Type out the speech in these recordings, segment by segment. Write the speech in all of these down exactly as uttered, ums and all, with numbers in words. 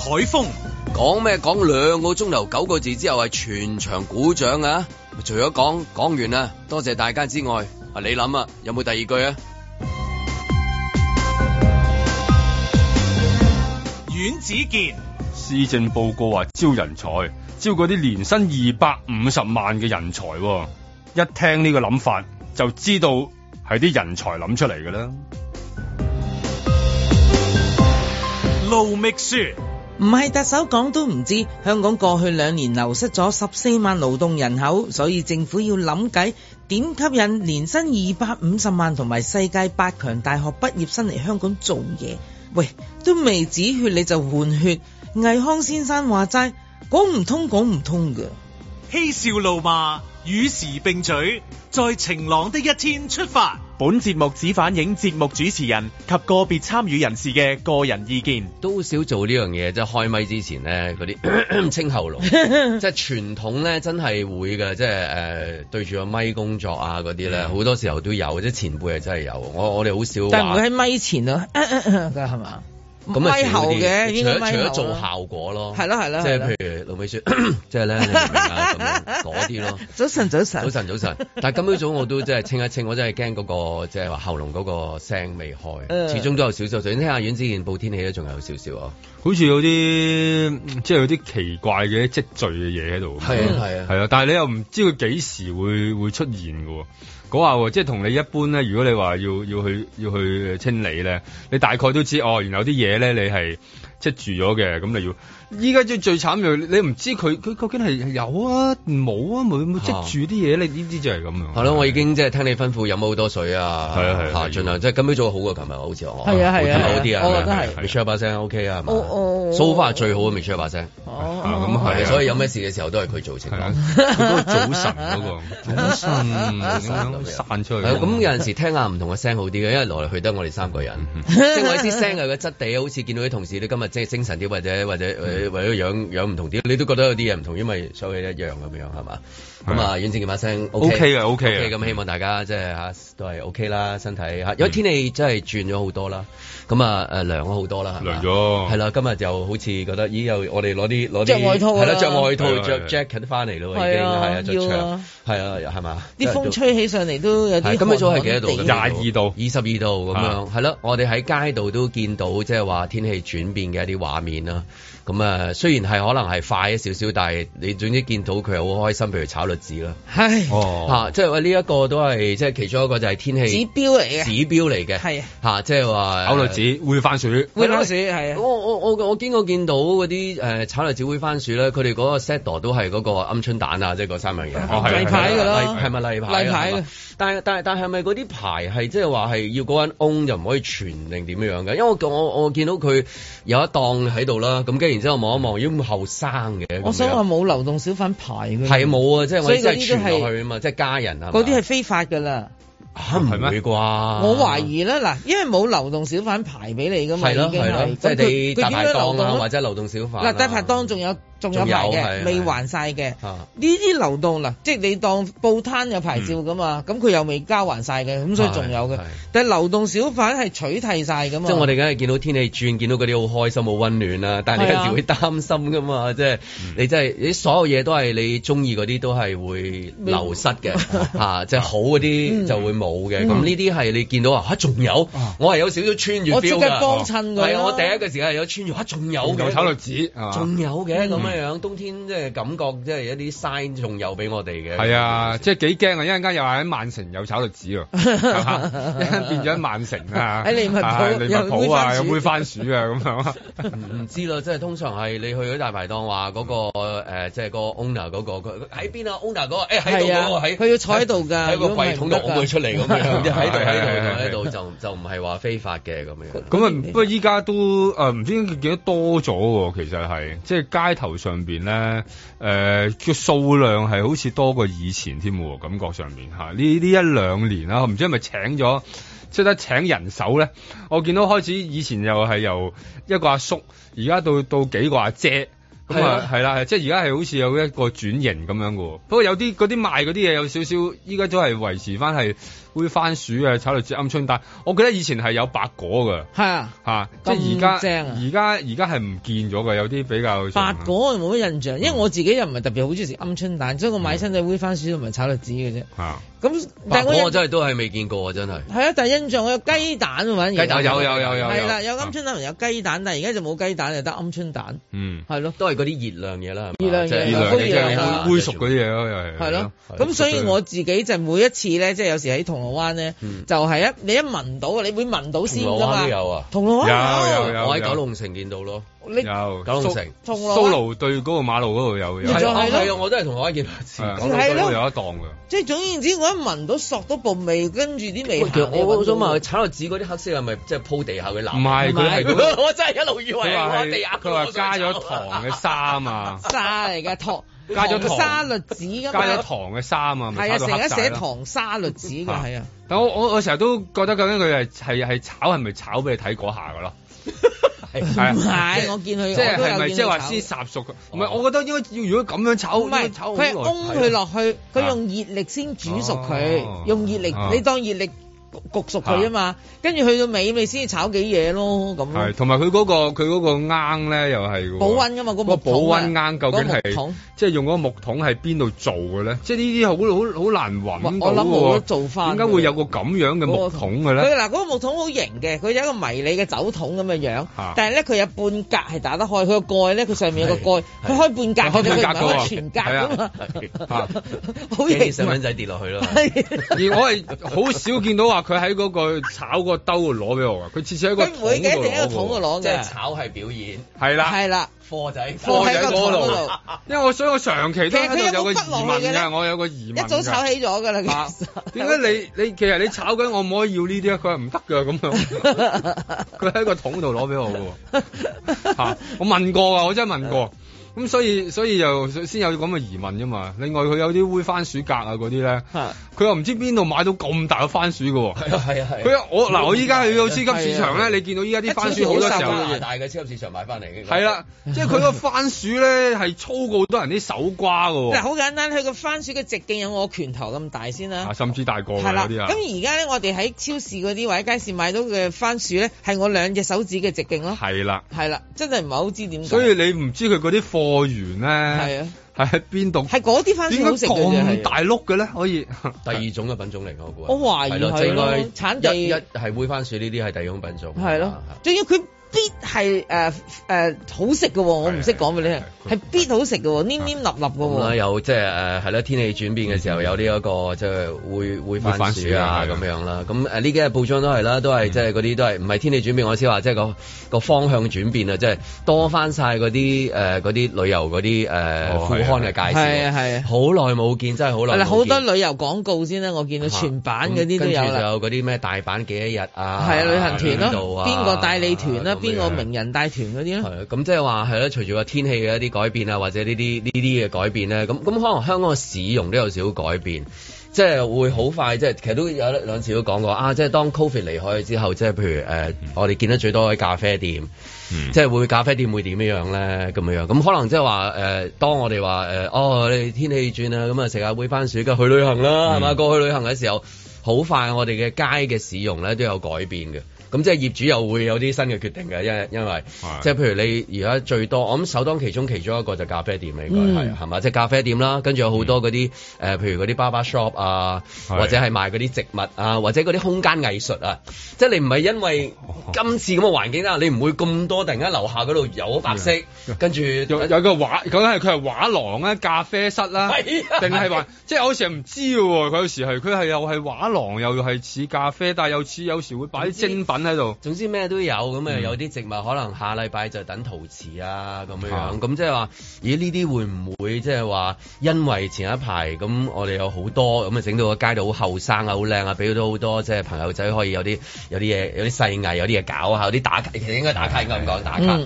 海峰講咩？講兩個鐘頭九個字之後係全場鼓掌啊！除咗講講完啦，多謝大家之外，啊你諗啊，有冇第二句啊？ 阮子健施政報告話招人才，招嗰啲年薪二百五十萬嘅人才，一聽呢個諗法就知道係啲人才諗出嚟㗎啦。 盧覓雪唔係特首講都唔知，香港過去兩年流失咗十四萬勞動人口，所以政府要諗計點吸引年薪二百五十萬同埋世界八強大學畢業生嚟香港做嘢。喂，都未止血你就換血，倪匡先生話齋，講唔通講唔通㗎。 嬉笑怒罵與時並舉，在晴朗的一天出發。 本節目只反映節目主持人及個別參與人士嘅個人意見。 都少做呢樣嘢，即係開咪之前咧，嗰啲清喉嚨，即係傳統咧，真係會嘅，即係誒、呃、對住個咪工作啊嗰啲咧，好、嗯、多時候都有，即係前輩係真係有。我我哋好少， 但唔會喺咪前啊，㗎係嘛？咁咪後嘅，除咗除咗做效果咯， 係咯係咯， 即係譬如盧美雪，即係咧，你明唔明啊？咁樣嗰啲咯。早晨早晨早晨早晨，但係今朝早我都即係清一清，我真係驚嗰個即係話喉嚨嗰個聲未開，嗯、始終都有少少。首先聽下阮子健報天氣咧，仲有少少啊， 好似有啲即係有啲奇怪嘅積聚嘅嘢喺度。係啊係啊係啊，但係你又唔知佢幾時會會出現㗎喎。講下喎，即係同你一般咧，如果你話要要去要去清理咧，你大概都知哦，原來有啲嘢咧你係積住咗嘅，咁你要。依家最最慘就你唔知佢佢究竟係有啊冇啊冇冇積住啲嘢，你呢啲就係咁樣。係咯， 我已經即係聽你吩咐飲好多水啊，係啊係啊，盡量即係今朝早好過琴日，好似我係啊係啊，好啲啊，我覺得係。Michelle 把聲 OK 啊，係嘛？So far 最好嘅 Michelle 把聲。哦，咁係，所以有咩事嘅時候都係佢做情況。 佢嗰個早晨嗰個早晨咁樣散出去。 咁有陣時聽下唔同嘅聲好啲嘅，因為來來去得我哋三個人，即係我啲聲係個質地，好似見到啲同事你今日即係精神啲，或者或者。為咗樣樣唔同啲，你都覺得有啲嘢唔同，因為所有嘢一樣咁樣係嘛？咁啊，阮子健把聲 OK 嘅 OK 嘅， 咁希望大家即係嚇都係 OK 啦，身體嚇，因為天氣真係轉咗好多啦，咁啊誒涼咗好多啦， 涼咗係啦，今日就好似覺得咦又我哋攞啲攞啲著外套係啦，著外套著 jacket 翻嚟咯，已經係啊，著長係啊係嘛？ 啲風吹起上嚟都有啲。 今日早係幾多度？ 廿二度、 二十二度咁樣係咯，我哋喺街度都見到即係話天氣轉變嘅一啲畫面啦。咁啊，雖然係可能係快一少少，但係你總之見到佢係好開心，譬如炒栗子啦， 係哦嚇，即係話呢一個都係即係其中一個就係天氣指標嚟嘅， 指標嚟嘅係嚇，即係話炒栗子煨番薯， 煨番薯係啊！ 我我我我經過見到嗰啲誒炒栗子煨番薯咧，佢哋嗰個 set 都係嗰個鵪鶉蛋啊，即係嗰三樣嘢， 例牌㗎咯， 係咪例牌？例牌嘅，但係但係但係係咪嗰啲牌係即係話係要嗰間 own 就唔可以傳定點樣嘅？因為我我我見到佢有一檔喺度啦，咁跟住然之後望一望，咦咁後生嘅， 我想話冇流動小販牌嘅， 係冇啊，即係我真係傳落去啊嘛，即係家人啊， 嗰啲係非法㗎啦。 嚇唔會啩？ 我懷疑啦，嗱，因為冇流動小販牌俾你㗎嘛，已經係即係你大排檔啊，或者流動小販嗱，大排檔仲有。仲有牌嘅，未還晒嘅。呢啲流動嗱，即係你當報攤有牌照噶嘛，咁佢又未交還晒嘅，咁所以仲有嘅。但係流動小販係取締晒噶嘛。即係我哋梗係見到天氣轉，見到嗰啲好開心、好溫暖啦。但係你有時會擔心噶嘛，即係你真係你所有嘢都係你中意嗰啲都係會流失嘅嚇，即係好嗰啲就會冇嘅。咁呢啲係你見到啊嚇，仲有我係有少少穿越 feel 㗎。我即刻幫襯佢。係啊，我第一個時間係有穿越嚇，仲有嘅炒栗子，仲有嘅咁。樣冬天即係感覺，即係一啲 sign 仲有俾我哋嘅。 係啊，即係幾驚啊！一陣間又話喺曼城有炒栗子喎，一陣間變咗喺曼城啊， 喺利物浦利物浦啊，有煨番薯啊咁樣。 唔知啦，即係通常係你去咗大排檔話嗰個誒，即係個 owner 嗰個佢喺邊啊 owner 嗰個誒喺度嗰個喺， 佢要坐喺度㗎， 喺個櫃桶度攞佢出嚟咁樣，喺度喺度喺度就就唔係話非法嘅咁樣。 咁啊，不過依家都誒唔知點解見得多咗喎，其實係即係街頭上邊咧，誒嘅數量係好似多過以前添喎，感覺上邊嚇呢呢一兩年啦，唔知係咪請咗即係得請人手咧？我見到開始以前又係由一個阿叔，而家到到幾個阿姐咁啊係啦，即係而家係好似有一個轉型咁樣嘅。不過有啲嗰啲賣嗰啲嘢有少少，依家都係維持翻係煨番薯啊、炒栗子、鵪鶉蛋。我記得以前係有白果㗎。係啊，嚇，即係而家而家而家係唔見咗嘅，有啲比較白果我冇乜印象，因為我自己又唔係特別好中意食鵪鶉蛋，所以我買親就煨番薯同埋炒栗子嘅啫。嚇，咁但係我我真係都係未見過，真係。 係啊，但係印象我有雞蛋啊，反而雞蛋有有有有係啦，有鵪鶉蛋同有雞蛋，但係而家就冇雞蛋，就得鵪鶉蛋。嗯，係咯， 都係嗰啲熱量嘢啦， 熱量嘢， 熱量嘢，即係煨熟嗰啲嘢咯，又係。 係咯，咁所以我自己就每一次咧，即係有時喺銅鑼灣咧，就係一你一聞到，你會聞到先㗎嘛。銅鑼灣都有啊，銅鑼灣有有有，我喺九龍城見到咯。 有九龍城蘇盧對嗰個馬路嗰度有， 係啊係啊，我都係銅鑼灣見到一次， 係咯， 有一檔㗎。 即係總言之，我一聞到索到部味，跟住啲味。 我我想問佢炒栗子嗰啲黑色係咪即係鋪地下嘅藍？ 唔係，佢係我真係一路以為係地下。 佢話加咗糖嘅沙啊， 沙嚟嘅糖， 加咗糖沙栗子㗎嘛， 加咗糖嘅沙啊， 係啊，成日寫糖沙栗子㗎，係啊。 但我我我成日都覺得究竟佢係係係炒係咪炒俾你睇嗰下㗎咯？ 係唔係？我見佢即係係咪即係話先烚熟佢？唔係，我覺得應該要如果咁樣炒， 唔係佢係㧬佢落去，佢用熱力先煮熟佢，用熱力你當熱力焗熟佢啊嘛，跟住去到尾咪先炒幾嘢咯咁。係，同埋佢嗰個佢嗰個罌咧又係保溫㗎嘛，個木保溫罌究竟係即係用嗰個木桶係邊度做嘅咧？即係呢啲好好好難揾到喎。我諗冇得做翻。點解會有個咁樣嘅木桶嘅咧？ 佢嗱嗰個木桶好型嘅，佢有一個迷你嘅酒桶咁嘅樣，但係咧佢有半格係打得開，佢個蓋咧佢上面有個蓋，佢開半格，佢唔係開全格㗎嘛。 好型，細蚊仔跌落去咯。 而我係好少見到話。佢喺嗰個炒個兜度攞俾我㗎，佢次次喺個桶度攞。佢唔會嘅，一定喺個桶度攞嘅。 即係炒係表演。 係啦， 係啦， 貨仔貨仔嗰度。因為我所以我長期都喺度有個疑問㗎，我有個疑問。 一早炒起咗㗎啦，其實。 點解你你其實你炒緊我唔可以要呢啲啊？佢話唔得㗎咁樣。佢喺個桶度攞俾我㗎。嚇！我問過啊，我真係問過。咁所以所以就先有咁嘅疑問啫嘛。另外佢有啲煨番薯格啊嗰啲咧，佢又唔知邊度買到咁大嘅番薯㗎喎。係啊係啊係。佢我嗱我依家去到超級市場咧，你見到依家啲番薯好多時候大嘅超級市場買翻嚟嘅。 係啦，即係佢個番薯咧係粗過好多人啲手瓜㗎喎。 嗱好簡單，佢個番薯嘅直徑有我拳頭咁大先啦。 甚至大過嗰啲啊。 咁而家咧我哋喺超市嗰啲或者街市買到嘅番薯咧係我兩隻手指嘅直徑咯。係啦。係啦，真係唔係好知點解。 所以你唔知佢嗰啲貨源咧。係啊，係喺邊度？係嗰啲番薯好食嘅，咁大碌嘅咧，可以第二種嘅品種嚟嘅，我估。 我懷疑係咯，產地一係煨番薯呢啲係第二種品種。 係咯，仲要佢。必係誒誒好食嘅喎，我唔識講俾你聽，係必好食嘅喎，黏黏立立嘅喎。 咁有即係誒係啦，天氣轉變嘅時候有呢一個即係會會番薯啊咁樣啦。咁誒呢幾日報章都係啦，都係即係嗰啲都係唔係天氣轉變，我先話即係個個方向轉變啊，即係多翻晒嗰啲誒嗰啲旅遊嗰啲誒副刊嘅介紹。係啊係啊，好耐冇見，真係好耐。 好多旅遊廣告先啦，我見到全版嗰啲都有啦。跟住就有嗰啲咩大阪幾多日啊？ 係啊，旅行團咯，邊個帶你團啦？邊個名人帶團嗰啲咧？ 係咁即係話係咧，隨住個天氣嘅一啲改變啊，或者呢啲呢啲嘅改變咧，咁咁可能香港嘅市容都有少少改變，即係會好快，即係其實都有兩次都講過啊！即係當 Covid 離開之後，即係譬如誒、呃嗯，我哋見得最多喺咖啡店，嗯、即係會咖啡店會點樣樣咧？咁樣樣咁可能即係話誒，當我哋話誒，哦，你天氣轉啊，咁啊食下煨番薯，去旅行啦，係嘛、嗯？過去旅行嘅時候，好快我哋嘅街嘅市容咧都有改變嘅。咁即係業主又會有啲新嘅決定嘅，因為因為即係譬如你而家最多，我諗首當其衝其中一個就咖啡店啦，應該係係嘛？即係咖啡店啦，跟住有好多嗰啲誒，譬如嗰啲 barber shop 啊，或者係賣嗰啲植物啊，或者嗰啲空間藝術啊，即係你唔係因為今次咁嘅環境啦，你唔會咁多突然間樓下嗰度有白色，跟住有有個畫，究竟係佢係畫廊啊、咖啡室啦，定係話即係我有時唔知嘅喎，佢有時係佢係又係畫廊，又係似咖啡，但係又似有時會擺啲精品喺度， 總之咩都有咁啊！有啲植物可能下禮拜就等陶瓷啊咁樣樣，咁即係話，咦呢啲會唔會即係話，因為前一排咁我哋有好多咁啊，整到個街道好後生啊，好靚啊，俾到好多即係朋友仔可以有啲有啲嘢有啲細藝有啲嘢搞下，有啲打卡其實應該打卡應該咁講打卡。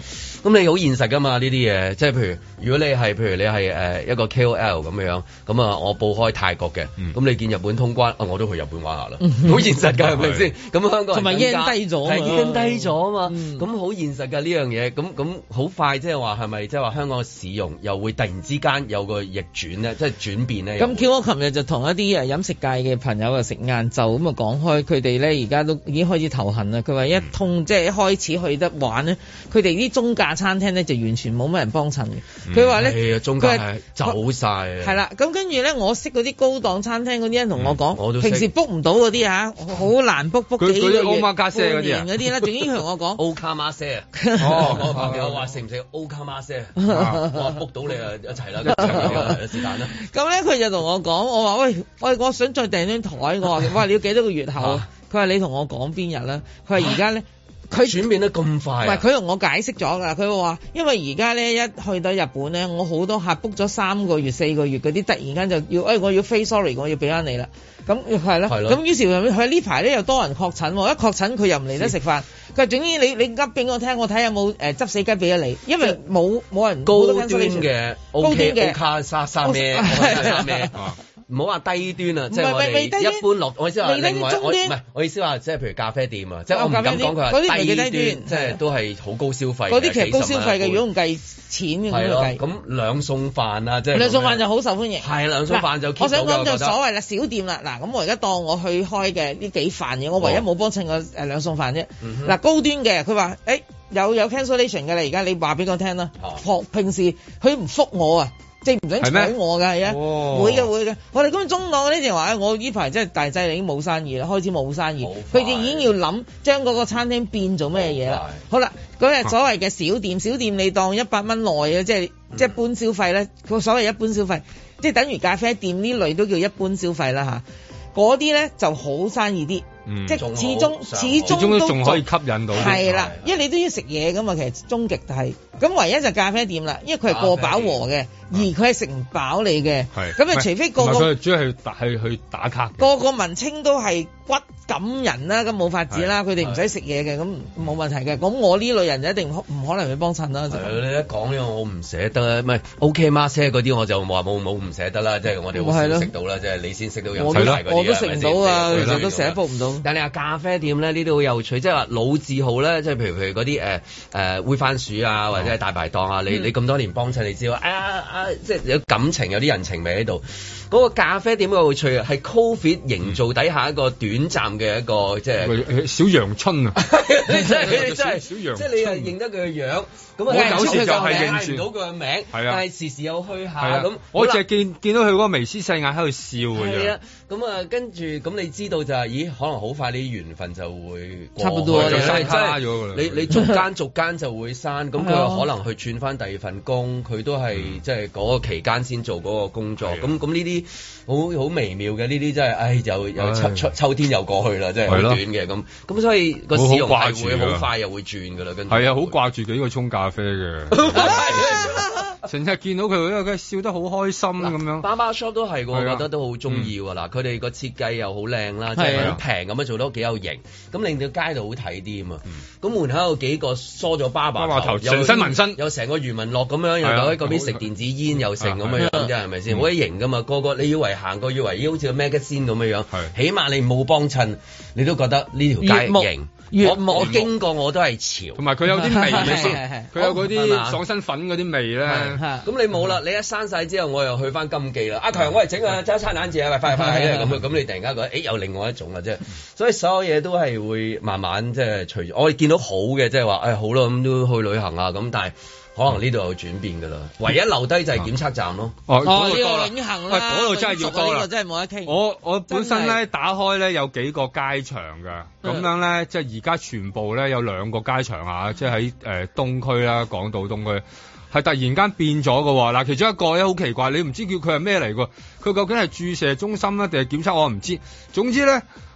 咁你好現實噶嘛呢啲嘢，即係譬如如果你係譬如你係誒一個 K O L 咁樣，咁啊我報開泰國嘅，咁、嗯、你見日本通關，啊我都去日本玩下啦，好現實㗎係咪先？咁香港人同埋 yen 低咗，係 yen 低咗啊嘛，咁好、嗯、現實㗎呢樣嘢，咁咁好快即係話係咪即係話香港嘅市容又會突然之間有個逆轉咧，即係轉變咧？咁 Q 我琴日就同一啲誒飲食界嘅朋友啊食晏晝咁啊講開，佢哋咧而家都已經開始頭痕啦。佢話一通、嗯、即係一開始去得玩咧，佢哋啲中價餐廳咧就完全冇乜人幫襯嘅。佢話咧，係啊，中價係走晒啊。係啦，咁跟住咧，我識嗰啲高檔餐廳嗰啲人同我講、嗯，平時 book 唔到嗰啲啊，好難 book book 幾個月。嗰啲歐卡些嗰啲啊，嗰啲啦，總之同我講歐卡馬些啊。哦，我朋友話食唔食歐卡馬些？我話 book 到你啊，一齊啦，是但啦。咁咧，佢就同我講，我話喂，我我想再訂張台，我話哇，你要幾多個月後？佢話你同我講邊日啦？佢話而家咧。佢轉變得咁快、啊，唔係佢同我解釋咗㗎。佢話因為而家咧一去到日本咧，我好多客 book 咗三個月、四個月嗰啲，突然間就要，誒、哎、我要飛 sorry， 我要俾翻你啦。咁係咯，咁於是佢呢排咧又多人確診，一確診佢又唔嚟得食飯。佢話總之你你噏俾我聽，我睇下有冇誒執死雞俾咗你，因為冇冇人高端嘅 OK 嘅卡沙沙咩沙咩。唔好話低端啊，即係我哋一般落，我意思話另外我唔係我意思話，即係譬如咖啡店啊，即係我唔敢講佢話低端，即係都係好高消費。嗰啲其實高消費嘅，如果唔計錢嘅咁樣計。咁兩餸飯啊，即係兩餸飯就好受歡迎。係兩餸飯就我想講就所謂啦，小店啦，嗱咁我而家當我去開嘅呢幾飯嘢，我唯一冇幫襯過誒兩餸飯啫。嗱高端嘅，佢話誒有有 cancellation 嘅啦，而家你話俾我聽啦。平時佢唔覆我啊。即係唔想睬我㗎，係啊，會嘅會嘅。我哋咁中檔嗰啲就話，我呢排真係大劑，已經冇生意啦，開始冇生意。佢哋已經要諗將嗰個餐廳變做咩嘢啦。好啦，嗰日所謂嘅小店，小店你當一百蚊內嘅，即係即係一般消費咧。佢所謂一般消費，即係等於咖啡店呢類都叫一般消費啦嚇。嗰啲咧就好生意啲。嗯、即係始終始終都仲可以吸引到，係啦，因為你都要食嘢噶嘛，其實終極係咁，唯一就咖啡店啦，因為佢係過飽和嘅，而佢係食唔飽你嘅，咁啊除非個個佢主要係係去打卡，個個文青都係骨感人啦，咁冇法子啦，佢哋唔使食嘢嘅，咁冇問題嘅。咁我呢類人就一定唔可能去幫襯啦。你一講呢個我唔捨得，唔係 OK 媽姐嗰啲我就話冇冇唔捨得啦，即係我哋好少食到啦，即係你先食到有品牌嗰啲，我都食唔到啊，其實都成日煲唔到。但係你話咖啡店咧，呢啲好有趣，即係話老字號咧，即係譬如譬如嗰啲誒誒煨番薯啊，或者係大排檔啊，你你咁多年幫襯，你知道啊啊，即係有感情，有啲人情味喺度。嗰個咖啡店好有趣啊，係 Covid 營造底下一個短暫嘅一個即係小陽春啊！即係佢哋真係小陽春，即係你又認得佢嘅樣，咁啊有時就係認唔到佢嘅名，但係時時有虛下咁。我淨係見見到佢嗰個眉絲細眼喺度笑嘅啫。咁啊，跟住咁你知道就係，咦？可能好快呢啲緣分就會差唔多就刪咗㗎啦。你你逐間逐間就會刪，咁佢可能去轉翻第二份工，佢都係即係嗰個期間先做嗰個工作。咁咁呢啲好好微妙嘅呢啲真係，唉，又又秋秋秋天又過去啦，真係好短嘅咁。咁所以個市容係會好快又會轉㗎啦。跟住係啊，好掛住幾個沖咖啡嘅。成日見到佢，因為佢笑得好開心咁樣。Barber Shop 都係，我覺得都好中意喎。嗱，佢哋個設計又好靚啦，即係好平咁樣做得幾有型，咁令到街度好睇啲啊嘛。咁門口有幾個梳咗巴巴頭，成身紋身，有成個余文樂咁樣，又喺嗰邊食電子煙又成咁樣樣，即係咪先？好鬼型噶嘛，個個你以為行過以為咦好似個 magazine 咁樣樣，起碼你冇幫襯，你都覺得呢條街型。我我經過我都係潮，同埋佢有啲味咪先，佢有嗰啲爽身粉嗰啲味咧。咁你冇啦，你一閂晒之後，我又去翻金記啦。阿強，我嚟整啊，爭餐眼字啊，喂，快快快咁咁你突然間覺得，誒，有另外一種啦，即係，所以所有嘢都係會慢慢即係隨住我哋見到好嘅，即係話，誒，好啦，咁都去旅行啊，咁但係。可能呢度有轉變㗎啦，唯一留低就係檢測站咯。哦，哦，呢個永恆啦，嗰度真係要多啦，真係冇得傾。我我本身咧打開咧有幾個街場㗎，咁樣咧即係而家全部咧有兩個街場啊，即係喺誒東區啦，港島東區係突然間變咗㗎喎。嗱，其中一個咧好奇怪，你唔知叫佢係咩嚟㗎？佢究竟係注射中心咧定係檢測？我唔知。總之咧。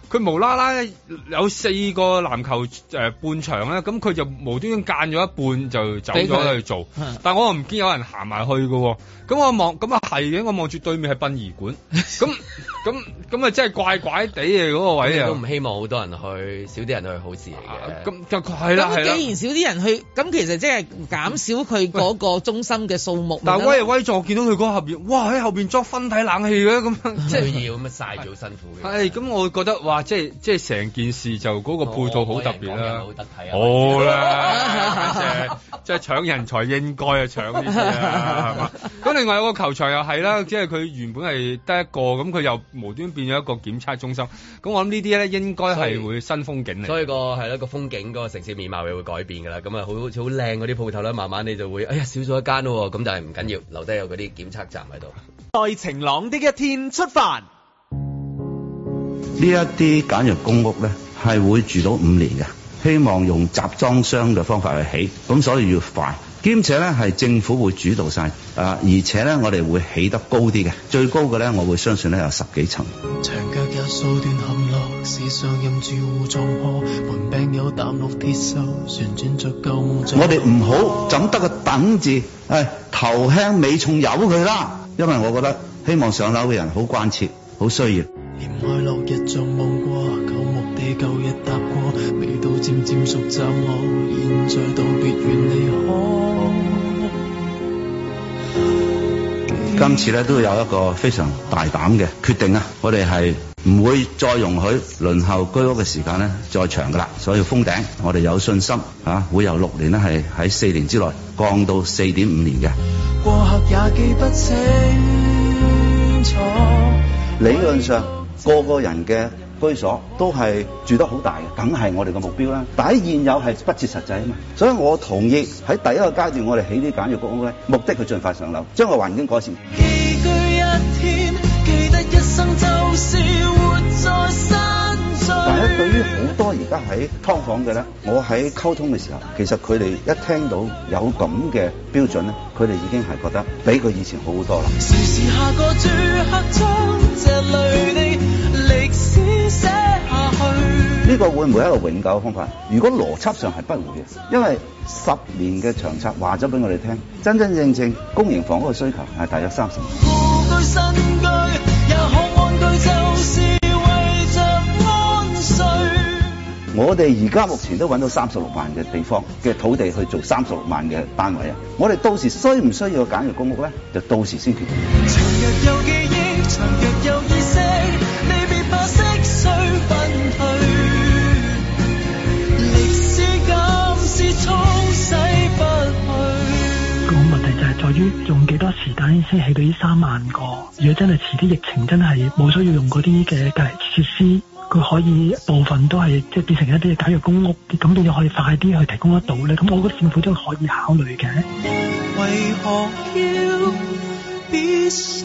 佢無啦啦有四個籃球誒、呃、半場咧，咁佢就無端端間咗一半就走咗去做，但我又唔見有人行埋去嘅，咁我望咁啊係嘅，我望住對面係殯儀館，咁咁咁啊真係怪怪地嘅嗰個位啊， 都唔希望好多人去，少啲人去好事嚟嘅， 咁就係啦係啦。 既然少啲人去，咁其實即係減少佢嗰個中心嘅數目。 但係威威助見到佢嗰後邊，哇喺後邊裝分體冷氣嘅咁樣，即係要咁樣曬住好辛苦嘅。 係咁，我覺得哇，即係即係成件事就嗰個配套好特別啦， 好得睇啊！ 好啦，即係即係搶人才應該啊搶呢啲啊，係嘛？咁另外有個球場又係啦，即係佢原本係得一個，咁佢又無端變咗一個檢測中心。咁我諗呢啲咧應該係會新風景嚟。 所以個係啦個風景嗰個城市面貌又會改變㗎啦。咁啊好好似好靚嗰啲鋪頭咧，慢慢你就會哎呀少咗一間咯。咁但係唔緊要，留低有嗰啲檢測站喺度。 在晴朗的一天出發。 呢一啲簡約公屋咧係會住到五年嘅，希望用集裝箱嘅方法去起，咁所以要快，兼且咧係政府會主導晒，啊，而且咧我哋會起得高啲嘅，最高嘅咧我會相信咧有十幾層。長腳有數段陷落，時常任住戶撞破，門柄有淡綠鐵鏽，旋轉着舊夢。我哋唔好怎得個等字，誒頭輕尾重由佢啦，因為我覺得希望上樓嘅人好關切，好需要。連愛落日像望過，舊木地舊日踏過，味道漸漸熟習我，現在道別願離開。今次咧都有一個非常大膽嘅決定啊！我哋係唔會再容許輪候居屋嘅時間咧再長噶啦，所以封頂我哋有信心啊，會由六年咧係喺四年之內降到四點五年嘅。過客也記不清楚，理論上。個個人嘅居所都係住得好大嘅，梗係我哋嘅目標啦。但喺現有係不切實際啊嘛，所以我同意喺第一個階段我哋起啲簡約公屋咧，目的佢盡快上樓，將個環境改善。寄居一天，記得一生就是活在山水。但係對於好多而家喺劏房嘅咧，我喺溝通嘅時候，其實佢哋一聽到有咁嘅標準咧，佢哋已經係覺得比佢以前好好多啦。時時下個住客將這類的歷史寫下去，呢個會唔會係一個永久嘅方法？如果邏輯上係不會嘅，因為十年嘅長策話咗俾我哋聽，真真正正公營房屋嘅需求係大約三十萬。故居新居也可安居，就是為着安睡。我哋而家目前都揾到三十六萬嘅地方嘅土地去做三十六萬嘅單位啊！我哋到時需唔需要簡約公屋咧？就到時先決定。長日有記憶，長日有意識，你別怕色衰分退。歷史感是沖洗不去。個問題就係在於用幾多時間先起到呢三萬個。如果真係遲啲疫情真係冇需要用嗰啲嘅隔離設施。佢可以部分都係即係變成一啲簡約公屋，咁變咗可以快啲去提供得到咧。咁我覺得政府都可以考慮嘅。為何要必須？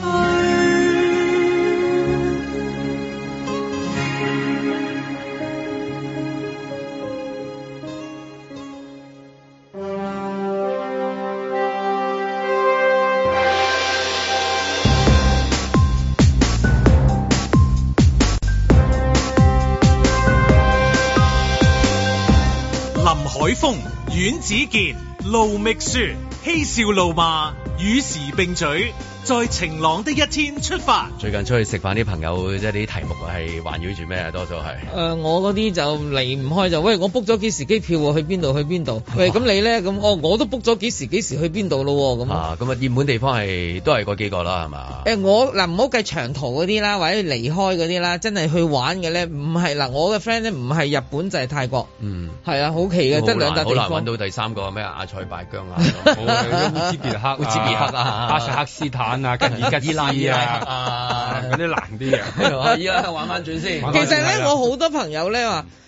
海風、阮子健、盧覓雪，嬉笑怒罵，與時並舉，在晴朗的一天出發。 最近出去食飯啲朋友，即係啲題目係環繞住咩啊？多數係誒、 呃，我嗰啲就離唔開就喂，我 book 咗幾時機票喎？去邊度？去邊度？喂，咁你咧？咁哦，我都 book 咗幾時幾時去邊度咯？咁啊，咁啊，熱門地方係都係嗰幾個啦，係嘛？ 誒、呃，我嗱唔好計長途嗰啲啦，或者離開嗰啲啦，真係去玩嘅咧，唔係嗱，我嘅 friend 咧唔係日本就係、是、泰國，嗯，係啊，好奇嘅，得兩笪地方， 好難揾到第三個咩阿塞拜疆啊， 烏茲別克、烏茲別克啊， 哈薩克斯坦啊，吉爾吉斯啊，嗰啲難啲嘅。 依家玩翻轉先。 其實咧，我好多朋友咧話。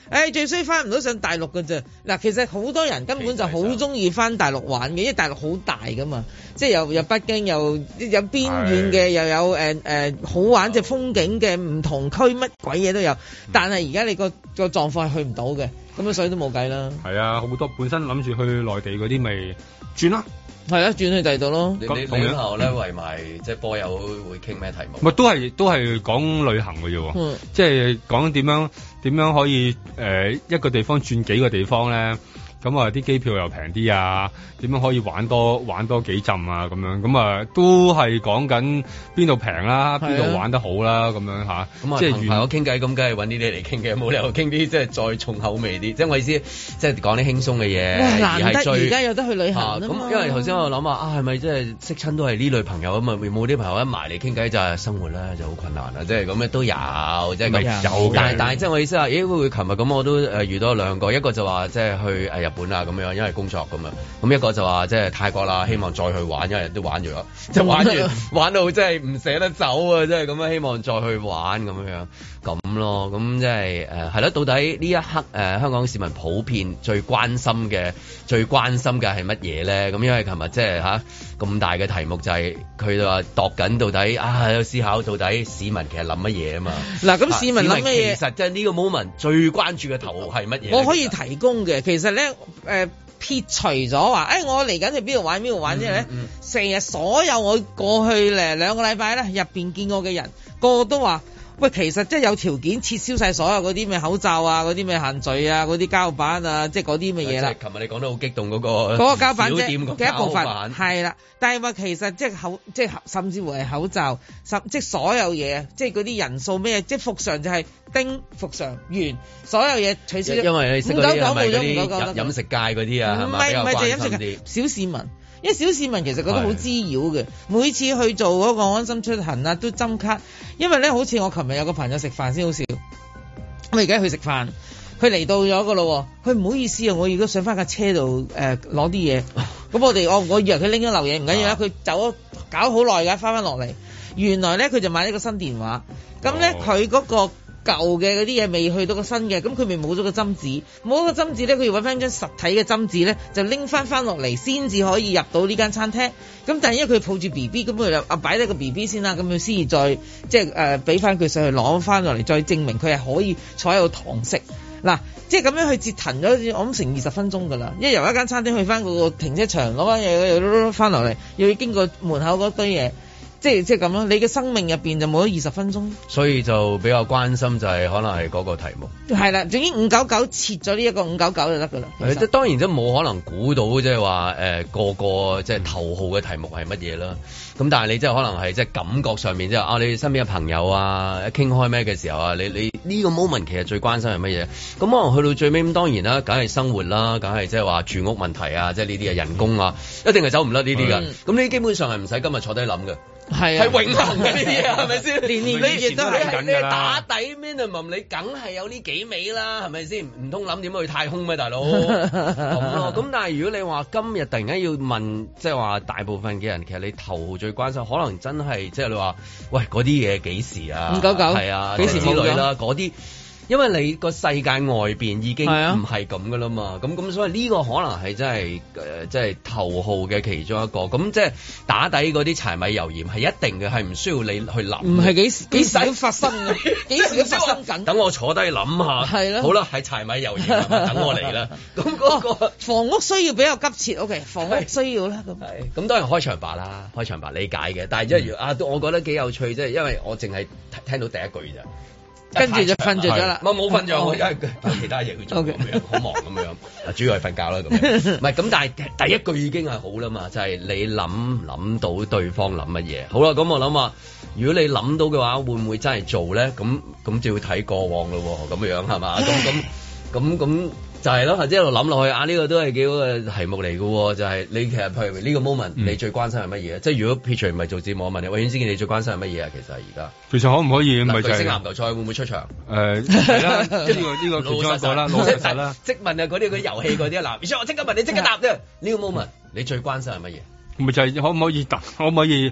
誒最衰翻唔到上大陸㗎啫。嗱，其實好多人根本就好中意翻大陸玩嘅，因為大陸好大噶嘛，即係又有北京又有邊遠嘅，又有誒誒、呃呃、好玩嘅風景嘅唔同區，乜鬼嘢都有。但係而家你個個狀況係去唔到嘅，咁啊所以都冇計啦。係啊，好多本身諗住去內地嗰啲咪轉啦。係啊，轉去第二度咯。你你你後咧圍埋即係波友會傾咩題目？咪都係都係講旅行嘅啫喎，嗯、即係講點樣點樣可以誒、呃、一個地方轉幾個地方咧。咁啊，啲機票又平啲啊，點樣可以玩多玩多幾浸啊？咁樣咁啊，都係講緊邊度平啦，邊度玩得好啦，咁樣吓。咁啊，即係同朋友傾偈，咁梗係揾呢啲嚟傾嘅，冇理由傾啲即係再重口味啲。即係我意思，即係講啲輕鬆嘅嘢。難得而家有得去旅行咁、啊、因為頭先我諗啊，係咪即係識親都係呢類朋友啊嘛？冇啲朋友一埋嚟傾偈就係生活咧就好困難啦。即係咁樣都有，即係咁有。但係但係即係我意思啊，咦會會琴日咁我都誒遇到兩個，一個就話即係去誒日本啊咁樣，因為工作咁樣，咁一個就話即係泰國啦，希望再去玩，因為都玩咗，即係玩完玩到真係唔捨得走啊！即係咁樣，希望再去玩咁樣咁咯，咁即係誒係咯。到底呢一刻誒、呃、香港市民普遍最關心嘅、最關心嘅係乜嘢咧？咁因為琴日即係嚇咁大嘅題目就係佢哋話度緊到底啊，有思考到底市民其實諗乜嘢啊嘛。嗱，咁市民諗乜嘢？其實即係呢個 moment 最關注嘅頭係乜嘢？我可以提供嘅，其實咧誒。呃撇除咗話，誒、哎、我嚟緊去邊度玩邊度玩之後咧，成日、嗯嗯、所有我過去咧兩個禮拜咧入邊見過嘅人，個個都話，喂，其實即係有條件撤銷晒所有嗰啲咩口罩啊，嗰啲咩限聚啊，嗰啲膠板啊，即係嗰啲咩嘢啦。即係琴日你講得好激動嗰、嗰個嗰個膠板啫嘅一部分，係啦。但係話其實即係口，即係甚至乎係口罩，甚即係所有嘢，即係嗰啲人數咩，即係復常就係丁復常完，所有嘢取消。因為你識嗰啲係咪嗰啲飲食界嗰啲啊？唔係唔係就係飲食界，小市民。因為小市民其實覺得好滋擾嘅，每次去做嗰個安心出行啊，都針卡。因為咧，好似我琴日有個朋友食飯先好笑，我而家去食飯，佢嚟到咗個咯，佢唔好意思啊，我而家上翻架車度誒攞啲嘢，咁、呃、我哋我我以為佢拎咗漏嘢，唔緊要啦，佢走咗搞好耐㗎，翻翻落嚟，原來咧佢就買咗個新電話，咁咧佢嗰個舊嘅嗰啲嘢未去到個新嘅，咁佢咪冇咗個針紙，冇咗個針紙咧，佢要揾翻張實體嘅針紙咧，就拎翻翻落嚟先至可以入到呢間餐廳。咁但係因為佢抱住 B B，咁佢就啊擺低個 B B 先啦，咁佢先至再即係誒俾翻佢上去攞翻落嚟，再證明佢係可以坐喺度堂食。嗱，即係咁樣去折騰咗，我諗成二十分鐘㗎啦。因為由一間餐廳去翻嗰個停車場攞翻嘢，又翻落嚟，又要經過門口嗰堆嘢。即係即係咁咯，你嘅生命入邊就冇咗二十分鐘，所以就比較關心就係可能係嗰個題目。係啦，總之五九九切咗呢一個五九九就得噶啦。即係當然都冇可能估到即係話誒個個即係頭號嘅題目係乜嘢啦。咁但係你即係可能係即係感覺上面即係啊，你身邊嘅朋友啊，一傾開咩嘅時候啊，你你呢個 moment 其實最關心係乜嘢？咁可能去到最尾咁，當然啦，梗係生活啦，梗係即係話住屋問題啊，即係呢啲啊人工啊，一定係走唔甩呢啲㗎。咁你基本上係唔使今日坐低諗嘅。係係永恆嘅呢啲嘢，係咪先？年年呢亦都係你打底 minimum，你梗係有呢幾味啦，係咪先？唔通諗點去太空咩，大佬？咁咯。咁但係如果你話今日突然間要問，即係話大部分嘅人，其實你頭最關心，可能真係即係你話，喂嗰啲嘢幾時啊？五九九係啊，幾時之類啦，嗰啲。因為你個世界外邊已經唔係咁噶啦嘛，咁咁、啊、所以呢個可能係真係誒，即係頭號嘅其中一個。咁即係打底嗰啲柴米油鹽係一定嘅，係唔需要你去諗。唔係幾時幾時都發生嘅，幾時都發生緊。等我坐低諗下。係咯。好啦，係柴米油鹽，等我嚟啦。咁嗰、嗰個、哦、房屋需要比較急切。O、okay, K， 房屋需要啦。咁係。咁當然開場白啦，開場白理解嘅。但係即係啊，我覺得幾有趣，即係因為我淨係聽到第一句咋。跟住就瞓着咗啦，我冇瞓着，我因為有其他嘢去做咁樣，好忙咁樣，主要係瞓覺啦咁樣。唔係咁，但係第一句已經係好啦嘛，就係你諗諗到對方諗乜嘢。好啦，咁我諗話，如果你諗到嘅話，會唔會真係做咧？咁咁就要睇過往咯，咁樣係嘛？咁咁咁咁。就係咯，即係一路諗落去啊！呢、這個都係幾好嘅題目嚟嘅，就係、是、你其實譬如呢個 moment，、嗯、你最關心係乜嘢？即係如果撇除唔係做節目，我問你，我遠之見你最關心係乜嘢啊？其實而家其實可唔可以唔係就係星籃球賽會唔會出場？誒係啦，呢個呢個其中一個啦，老實實啦。即問啊，嗰啲嗰啲遊戲嗰啲啊，嗱，我即刻問你，即刻答啫。呢個 moment 你最關心係乜嘢？咪就係可唔可以答？可唔可以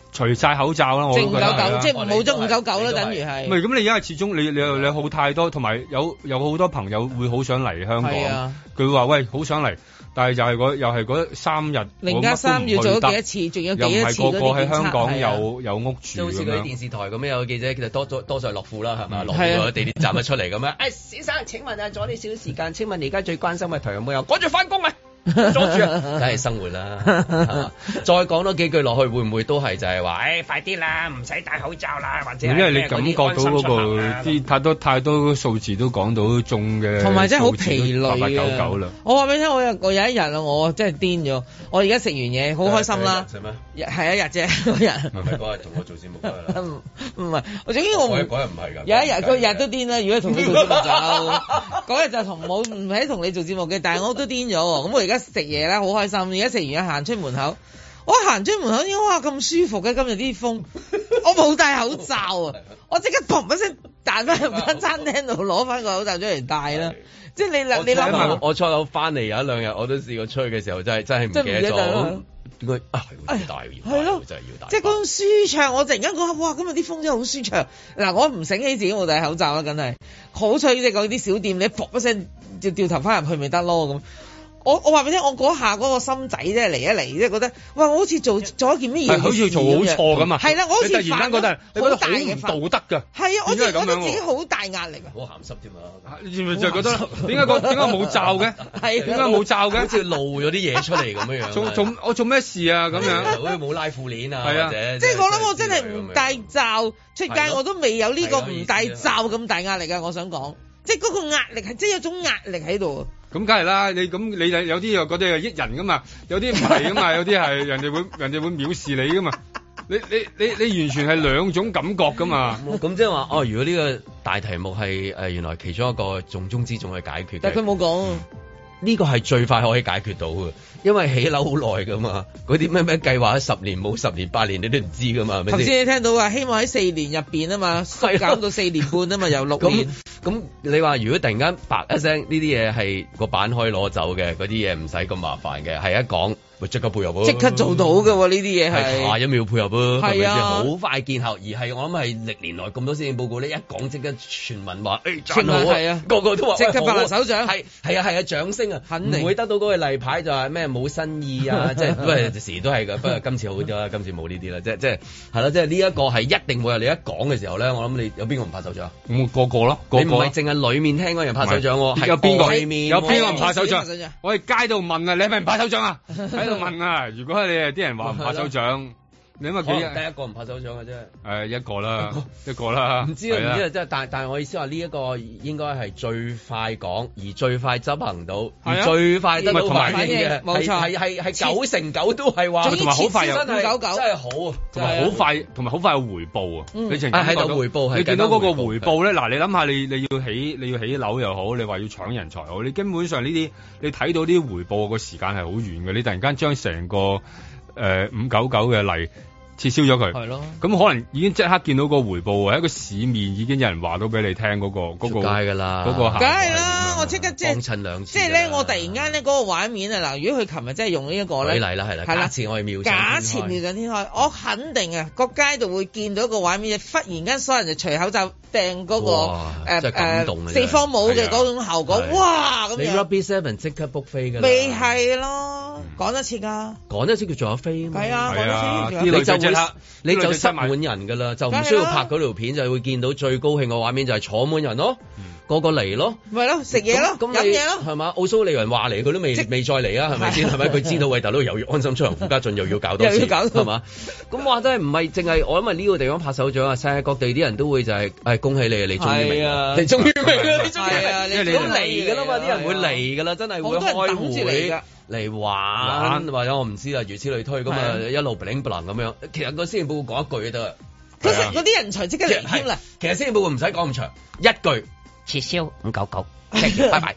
除晒口罩啦，我都覺得五九九即係冇咗五九九啦，等於係。 唔係咁，你因為始終你你你好太多，同埋有有好多朋友會好想嚟香港，佢話、啊、喂好想嚟。但係就係嗰又係嗰三日， 零加三要做咗幾多次，仲有幾多次嗰啲檢測？又唔係個個喺香港有有屋住， 好似嗰啲電視台咁樣有記者，其實多多多數係樂富啦，係咪？樂富喺地鐵站一出嚟咁樣。誒，先生請問啊，阻你少少時間？請問而家最關心嘅題有冇有？趕住翻工啊！阻住啊，梗係生活啦。再講多幾句落去，會唔會都係就係話，誒，快啲啦，唔使戴口罩啦，或者因為你感覺到嗰個啲太多太多數字都講到中嘅， 同埋真係好疲累啊！ 八八九九啦。 我話俾你聽，我有我有一日啊，我真係癲咗。我而家食完嘢，好開心啦。係咩？係一日啫，嗰日。唔係嗰日同我做節目嗰日啦。唔係，我總之我唔嗰日唔係㗎。有一日個日都癲啦。如果同你做節目就嗰日就同冇唔係同你做節目嘅，但係我都癲咗。咁我而家。食嘢啦，好開心！而家食完嘢行出門口，我行出門口，應該哇咁舒服嘅，今日啲風，我冇戴口罩啊！我即刻砰一聲彈翻入間餐廳度攞翻個口罩出嚟戴啦！即係你諗，你諗下， 我初頭翻嚟有一兩日，我都試過出去嘅時候，真係真係唔記得咗。點解啊？係要戴要戴，咯真係要戴。即係嗰種舒暢，我突然間覺得哇！今日啲風真係好舒暢。嗱，我唔醒起自己冇戴口罩啦，梗係好彩即係嗰啲小店，你砰一聲就掉頭翻入去咪得咯咁。我我話俾你聽，我嗰下嗰個心仔啫嚟一嚟，即係覺得哇！我好似做做一件咩嘢， 好似做好錯咁啊！ 係啦，我好似突然間覺得你覺得好唔道德㗎。 係啊，我真係覺得自己好大壓力啊！ 好鹹濕添啊！ 你咪就覺得點解個點解冇罩嘅？係點解冇罩嘅？ 好似露咗啲嘢出嚟咁樣樣。 做做我做咩事啊？咁樣好似冇拉褲鏈啊， 係啊， 即係我諗我真係唔戴罩出街，我都未有呢個唔戴罩咁大壓力啊！我想講，即係嗰個壓力係即係有種壓力喺度。 咁梗係啦，你咁你有啲又覺得係益人噶嘛，有啲唔係噶嘛，有啲係人哋會人哋會藐視你噶嘛，你你你你完全係兩種感覺噶嘛。 咁即係話哦，如果呢個大題目係誒、呃、原來其中一個重中之重去解決， 但係佢冇講。 呢個係最快可以解決到嘅，因為起樓好耐噶嘛，嗰啲咩咩計劃十年冇十年八年你都唔知噶嘛。 頭先你聽到話希望喺四年入邊啊嘛，縮減到四年半啊嘛，由六年。 咁你話如果突然間白一聲呢啲嘢係個版可以攞走嘅，嗰啲嘢唔使咁麻煩嘅，係一講咪即刻配合咯， 即刻做到嘅喎呢啲嘢係下一秒配合咯，係咪先？好快見效，而係我諗係歷年來咁多施政報告呢，一講即刻全民話誒讚好啊，個個都話即刻拍手掌， 係係啊係啊掌聲啊，肯定唔會得到嗰個例牌就係咩冇新意啊，即係不過時都係㗎，不過今次好啲啦，今次冇呢啲啦，即係即係係啦，即係呢一個係一定會有你一講嘅時候咧，我諗你有邊個唔拍手掌？ 咁個個咯，個個你唔係淨係裡面聽嗰人拍手掌喎， 有邊個裡面有邊個唔拍手掌？我喺街度問啊，你係咪唔拍手掌啊？喺度問啊，如果你係啲人話唔拍手掌。你咪幾日得一個唔拍手掌嘅啫？誒一個啦，一個啦。唔知啊，唔知啊，即係但但係我意思話呢一個應該係最快講，而最快執行到，而最快得到反應嘅，冇錯，係係係九成九都係話，同埋好快又五九九，真係好啊，同埋好快，同埋好快有回報啊！你淨係喺度回報，你見到嗰個回報咧？嗱，你諗下，你你要起你要起樓又好，你話要搶人才好，你根本上呢啲你睇到啲回報個時間係好遠嘅，你突然間將成個誒五九九嘅例撤銷咗佢，係咯，咁可能已經即刻見到個回報喎，喺個市面已經有人話到俾你聽嗰個嗰個，街㗎啦，嗰個梗係啦，我即刻即係幫襯兩次，即係咧，我突然間咧嗰個畫面啊，嗱，如果佢琴日真係用呢一個咧，舉例啦，係啦，假設我係妙，假設妙想天開，我肯定啊，個街度會見到一個畫面，忽然間所有人就除口罩掟嗰個誒誒四方帽嘅嗰種效果，哇咁樣，你 Rugby Seven 即刻 book 飛㗎，未係咯，講得切㗎，講得切佢仲有飛啊嘛，係啊，係啊，你就你就塞滿人噶啦，就唔需要拍嗰條片，就會見到最高興嘅畫面就係坐滿人咯，個個嚟咯，咪咯食嘢咯，飲嘢咯，係嘛？奧蘇利雲話嚟，佢都未未再嚟啊，係咪先？係咪？佢知道喂大佬又要安心出行，傅家俊又要搞多次，係嘛？咁話真係唔係淨係我諗係呢個地方拍手掌啊！世界各地啲人都會就係誒恭喜你啊！你終於明啊！你終於明啊！你終於明啊！你都嚟噶啦嘛！啲人會嚟噶啦，真係會開會。嚟玩或者我唔知啦，如此類推咁啊，一路 bling bling 咁樣。其實個施政報告講一句就得啦。其實嗰啲人才即刻嚟添啦。其實施政報告唔使講咁長，一句撤銷五九九，拜拜。哇！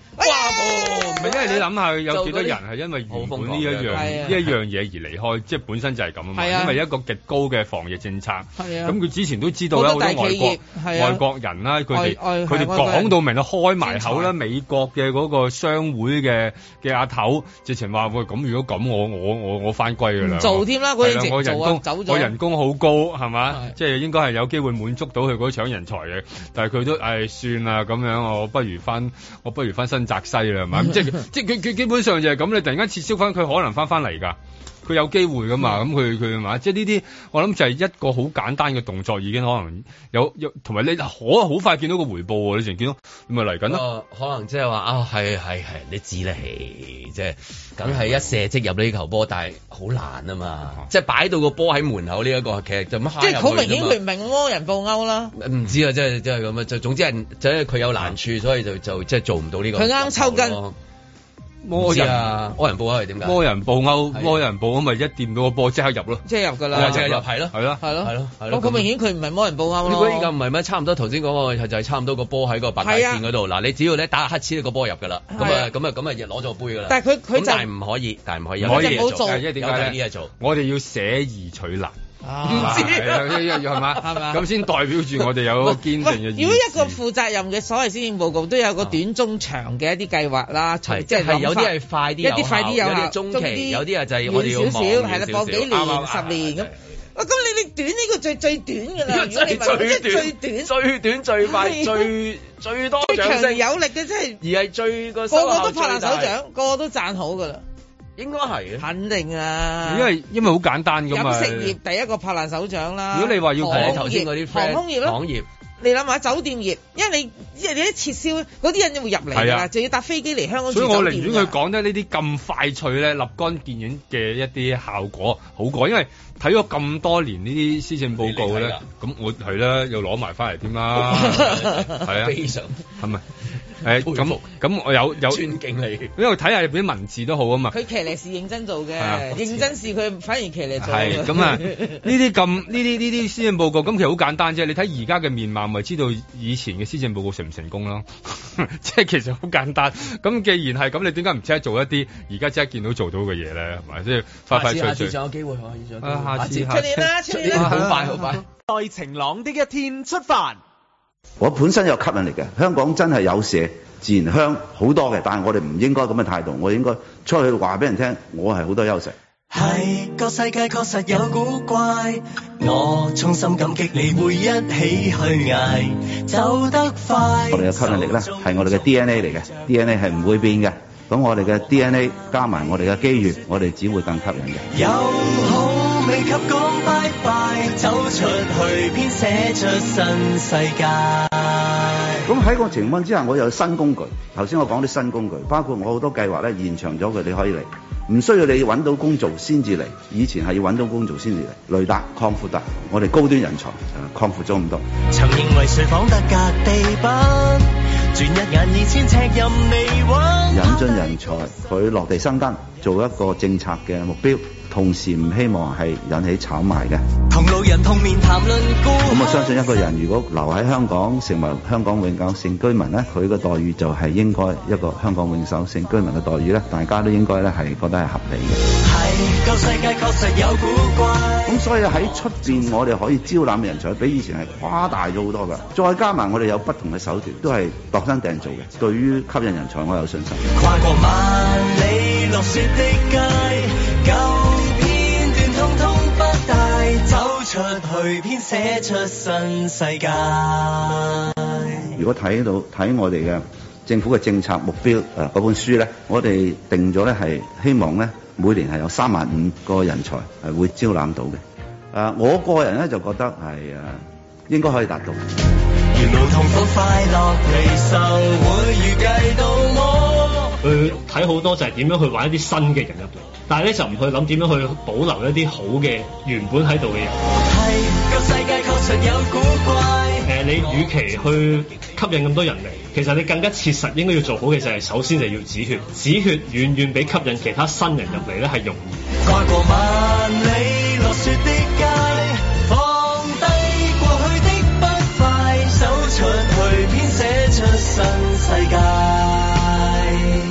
唔係因為你諗下有幾多人係因為原本呢一樣呢一樣嘢而離開，即係本身就係咁啊嘛。因為一個極高嘅防疫政策，咁佢之前都知道有好多外國外國人啦，佢哋佢哋講到明啦，開埋口啦，美國嘅嗰個商會嘅嘅阿頭直情話喂，咁如果咁我我我我翻歸㗎啦， 做添啦，嗰陣時我人工走咗， 我人工好高係嘛，即係應該係有機會滿足到佢嗰搶人才嘅，但係佢都誒算啦咁樣，我不如翻我不如翻新澤西啦係嘛，即係即係佢佢基本上就係咁，你突然間撤銷翻佢可能翻翻嚟㗎。佢有機會噶嘛？咁佢佢嘛？即係呢啲，我諗就係一個好簡單嘅動作，已經可能有有，同埋你可好快見到個回報喎！你成見到，你咪嚟緊咯。 可能即係話啊，係係係，你知咧，即係梗係一射即入呢球波，但係好難啊嘛！即係擺到個波喺門口呢一個，其實就乜即係好明顯佢唔係魔人布歐啦。唔知啊，即係即係咁啊！就總之係，即係佢有難處，所以就就即係做唔到呢個。 佢啱抽筋。 魔人啊！魔人布歐係點解？ 魔人布歐，魔人布歐咪一掂到個波即刻入咯， 即係入噶啦， 即係入係咯， 係咯， 係咯， 係咯，係咯。 咁明顯佢唔係魔人布歐咯。 如果依家唔係咩？差唔多頭先講個就係差唔多個波喺個白界線嗰度。嗱，你只要咧打乞嗤，個波入噶啦。咁啊，咁啊，咁啊，攞咗個杯噶啦。 但係佢佢就但係唔可以，但係唔可以。 可以冇做， 因為點解咧？我哋要捨易取難。 唔知係嘛？係嘛？咁先代表住我哋有個堅定嘅意思。 如果一個負責任嘅所謂施政報告都有個短中長嘅一啲計劃啦，即係有啲係快啲， 一啲快啲有效， 中期有啲啊就係我哋要少少，係啦，放幾年、十年咁。啊，咁你你短呢個最最短㗎啦，如果你話即係最短、 最短、最快、最最多最強有力嘅，即係而係最個個個都拍爛手掌，個個都讚好㗎啦。應該係肯定啊， 因為因為好簡單㗎嘛。飲食業第一個拍爛手掌啦。 如果你話要講頭先嗰啲航空業咯， 航業， 你諗下酒店業，因為你因為你一撤銷嗰啲人就會入嚟㗎啦，就要搭飛機嚟香港住酒店。 所以我寧願佢講得呢啲咁快脆咧，立竿見影嘅一啲效果好過，因為睇咗咁多年呢啲施政報告咧，咁我係啦，又攞埋翻嚟添啦，係啊， 非常係咪？誒咁咁我有有尊敬你， 因為睇下入邊文字都好啊嘛。 佢騎呢是認真做嘅，認真事佢反而騎呢做。 係咁啊！呢啲咁呢啲呢啲施政報告，咁其實好簡單啫。你睇而家嘅面貌，咪知道以前嘅施政報告成唔成功咯？即係其實好簡單。咁既然係咁，你點解唔即刻做一啲而家即刻見到做到嘅嘢咧？係咪？即係快快脆脆。下次仲有機會可以再。啊，下次出年啦，出年啦， 好快好快。 在晴朗的一天出發。 我本身有吸引力嘅，香港真係有蛇，自然香好多嘅，但係我哋唔應該咁嘅態度，我應該出去話俾人聽，我係好多優勢。 係個世界確實有古怪，我衷心感激你會一起去捱，走得快。我哋嘅吸引力咧係我哋嘅 D N A 嚟嘅 ，D N A 係唔會變嘅。咁我哋嘅 D N A 加埋我哋嘅機遇，我哋只會更吸引嘅。有好未及講拜拜，走出去編寫出新世界。咁喺個情況之下，我有新工具。頭先我講啲新工具，包括我好多計劃咧延長咗佢，你可以嚟，唔需要你揾到工做先至嚟。以前係要揾到工做先至嚟。雷達擴闊達，我哋高端人才擴闊咗咁多。曾認為誰仿得隔地板，轉一眼二千尺任你玩。引進人才，佢落地生根，做一個政策嘅目標。同時唔希望係引起炒賣嘅。同路人同面談論過。咁我相信一個人如果留喺香港成為香港永久性居民咧，佢嘅待遇就係應該一個香港永久性居民嘅待遇咧，大家都應該咧係覺得係合理嘅。係，舊世界確實有古怪。咁所以喺出邊我哋可以招攬嘅人才比以前係誇大咗好多㗎。再加埋我哋有不同嘅手段，都係度身訂造嘅。對於吸引人才，我有信心。跨過萬里落雪的街，通通不帶走出去，編寫出新世界。如果睇到睇我哋嘅政府嘅政策目標誒嗰、呃、本書咧，我哋定咗咧係希望咧每年係有三萬五個人才係會招攬到嘅。誒、呃，我個人咧就覺得係誒、呃、應該可以達到。沿路痛苦快樂離愁會預計到我。 去睇好多就係點樣去玩一啲新嘅人入嚟，但係咧就唔去諗點樣去保留一啲好嘅原本喺度嘅人。係個世界確實有古怪。誒、呃，你與其去吸引咁多人嚟，其實你更加切實應該要做好嘅就係首先就要止血，止血遠遠比吸引其他新人入嚟咧係容易。跨過萬里落雪的街，放低過去的不快，走出去編寫出新世界。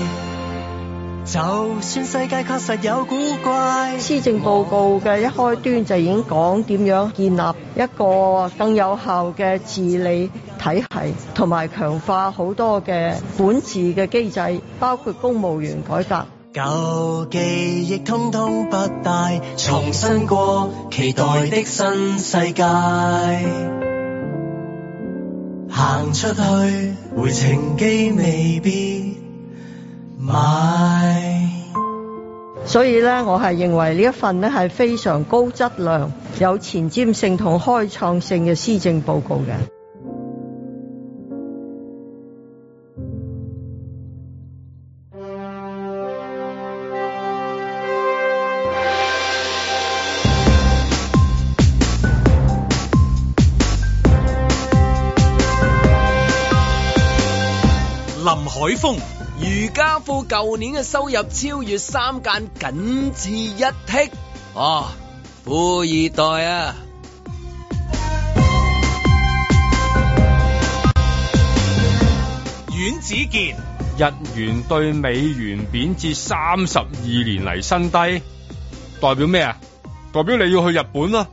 算世界確實有古怪。 施政報告嘅一開端就已經講點樣建立一個更有效嘅治理體系，同埋強化好多嘅管治嘅機制，包括公務員改革。 舊記憶通通不帶，重新過期待的新世界。行出去，回程機未必買。 所以咧，我係認為呢一份咧係非常高質量、有前瞻性同開創性嘅施政報告嘅。 林海峰， 瑜伽褲舊年嘅收入超越三間，僅次一剔。哦，富二代啊！ 阮子健， 日元對美元貶至三十二年嚟新低，代表咩啊？代表你要去日本啊！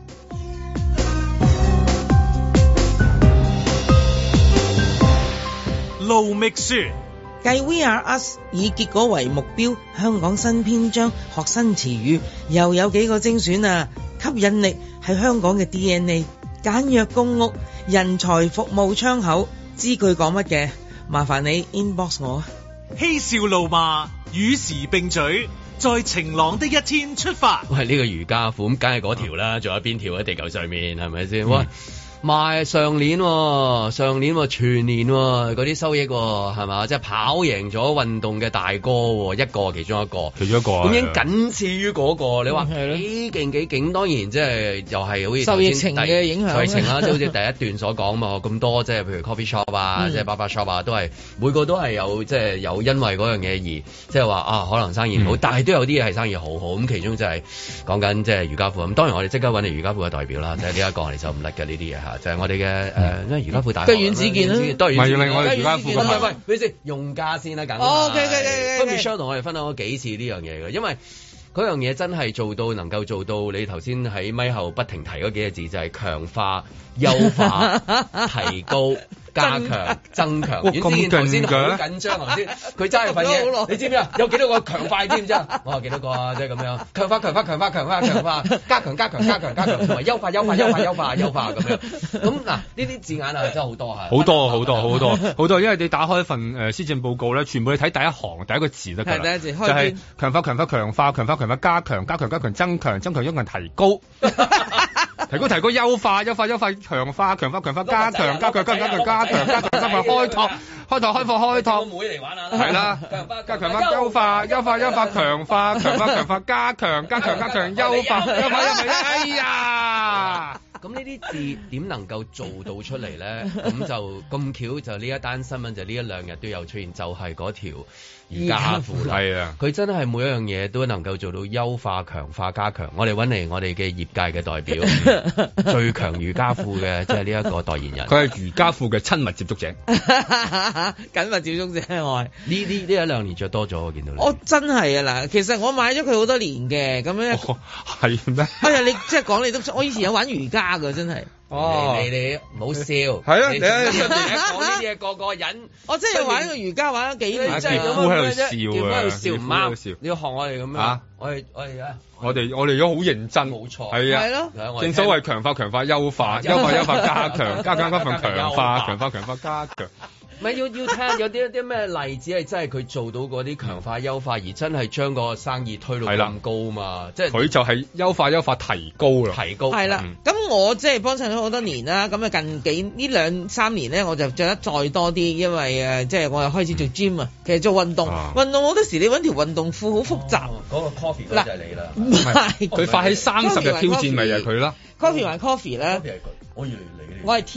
盧覓雪， 繼 We Are Us 以結果為目標，香港新篇章學新詞語，又有幾個精選啊！吸引力係香港嘅 D N A， 簡約公屋，人才服務窗口，知句講乜嘅？麻煩你 inbox 我。 嬉笑怒罵，與時並舉，在晴朗的一天出發。 喂，呢個瑜伽褲咁梗係嗰條啦，仲有邊條喺地球上面係咪先？喂！賣上年、哦，上年、哦、全年嗰、哦、啲收益係嘛，即係跑贏咗運動嘅大哥、哦，一個其中一個， 其中一個咁已經僅次於嗰、那個。你話幾勁幾勁？當然即係又係好似受疫情嘅影響，受疫情啦，即係好似第一段所講嘛，咁多即係譬如 coffee shop 啊，嗯、即係 barber shop 啊，都係每個都係有即係有因為嗰樣嘢而即係話啊，可能生意唔好，嗯、但係都有啲嘢係生意好好。咁其中就係講緊即係瑜伽褲咁。當然我哋即刻揾嚟瑜伽褲嘅代表啦，即係呢一個我哋就唔甩嘅呢啲嘢嚇，就係、是、我哋嘅。誒，因為瑜伽褲大，跟阮子健啦， 都係阮子健。我哋瑜伽褲咁喂喂，你先用家先啦，緊。 哦，OK OK OK。 咁 Michelle 同我哋分享咗幾次呢樣嘢嘅，因為嗰樣嘢真係做到能夠做到你頭先喺咪後不停提嗰幾個字，就係強化、優化、提高、加強、增強。阮子健頭先好緊張，頭先佢揸住份嘢，你知唔知啊？有幾多個強化知唔知啊？我話幾多個啊？即係咁樣強化、強化、強化、強化、強化、加強、加強、加強、加強，同埋優化、優化、優化、優化、優化咁樣。咁嗱，呢啲字眼啊，真係好多嚇。 好多好多好多好多，因為你打開份誒施政報告咧，全部你睇第一行第一個字得㗎啦。 第一字開就係強化、強化、強化、強化、強化、加強、加強、加強、增強、增強、增強、提高。提高提高優化優化優化強化強化強化加強加強加強加強加強加強加強開拓開拓開放開拓妹嚟玩下係啦，加強加優化優化優化強化強化強化加強加強加強優化優化優化哎呀！ 咁呢啲字點能夠做到出嚟咧？咁就咁巧就呢一單新聞就呢一兩日都有出現，就係嗰條瑜伽褲啦。係啊，佢真係每一樣嘢都能夠做到優化、強化、加強。我哋揾嚟我哋嘅業界嘅代表，最強瑜伽褲嘅即係呢一個代言人。 佢係瑜伽褲嘅親密接觸者， 緊密接觸者我係呢啲呢一兩年着多咗，我見到你。 我真係啊嗱，其實我買咗佢好多年嘅，咁樣係咩？ 哎呀，你即係講你都，我以前有玩瑜伽。㗎真係， 哦，你你唔好笑， 係啊，你講呢啲嘢個個人， 我真係玩個瑜伽玩咗幾年， 真係咁喺度笑啊， 喺度笑唔啱，你要學我哋咁樣，我哋我哋啊， 我哋我哋而家好認真， 冇錯， 係啊， 係咯， 正所謂強化強化優化，優化優化加強，加強加強強化，強化強化加強。 唔係要要聽有啲啲咩例子係真係佢做到嗰啲強化優化，而真係將個生意推到咁高嘛？即係佢就係優化優化提高啦， 提高係啦。咁、嗯、我即係幫襯咗好多年啦。咁啊近幾呢兩三年咧，我就着得再多啲，因為誒即係我又開始做 gym 啊。其實做運動，啊、運動好多時你揾條運動褲好複雜。嗰、哦嗰個 coffee 就係你啦，唔係佢發起三十日挑戰咪係佢啦。 coffee 還 coffee 咧， 我以為你， 我係 tea，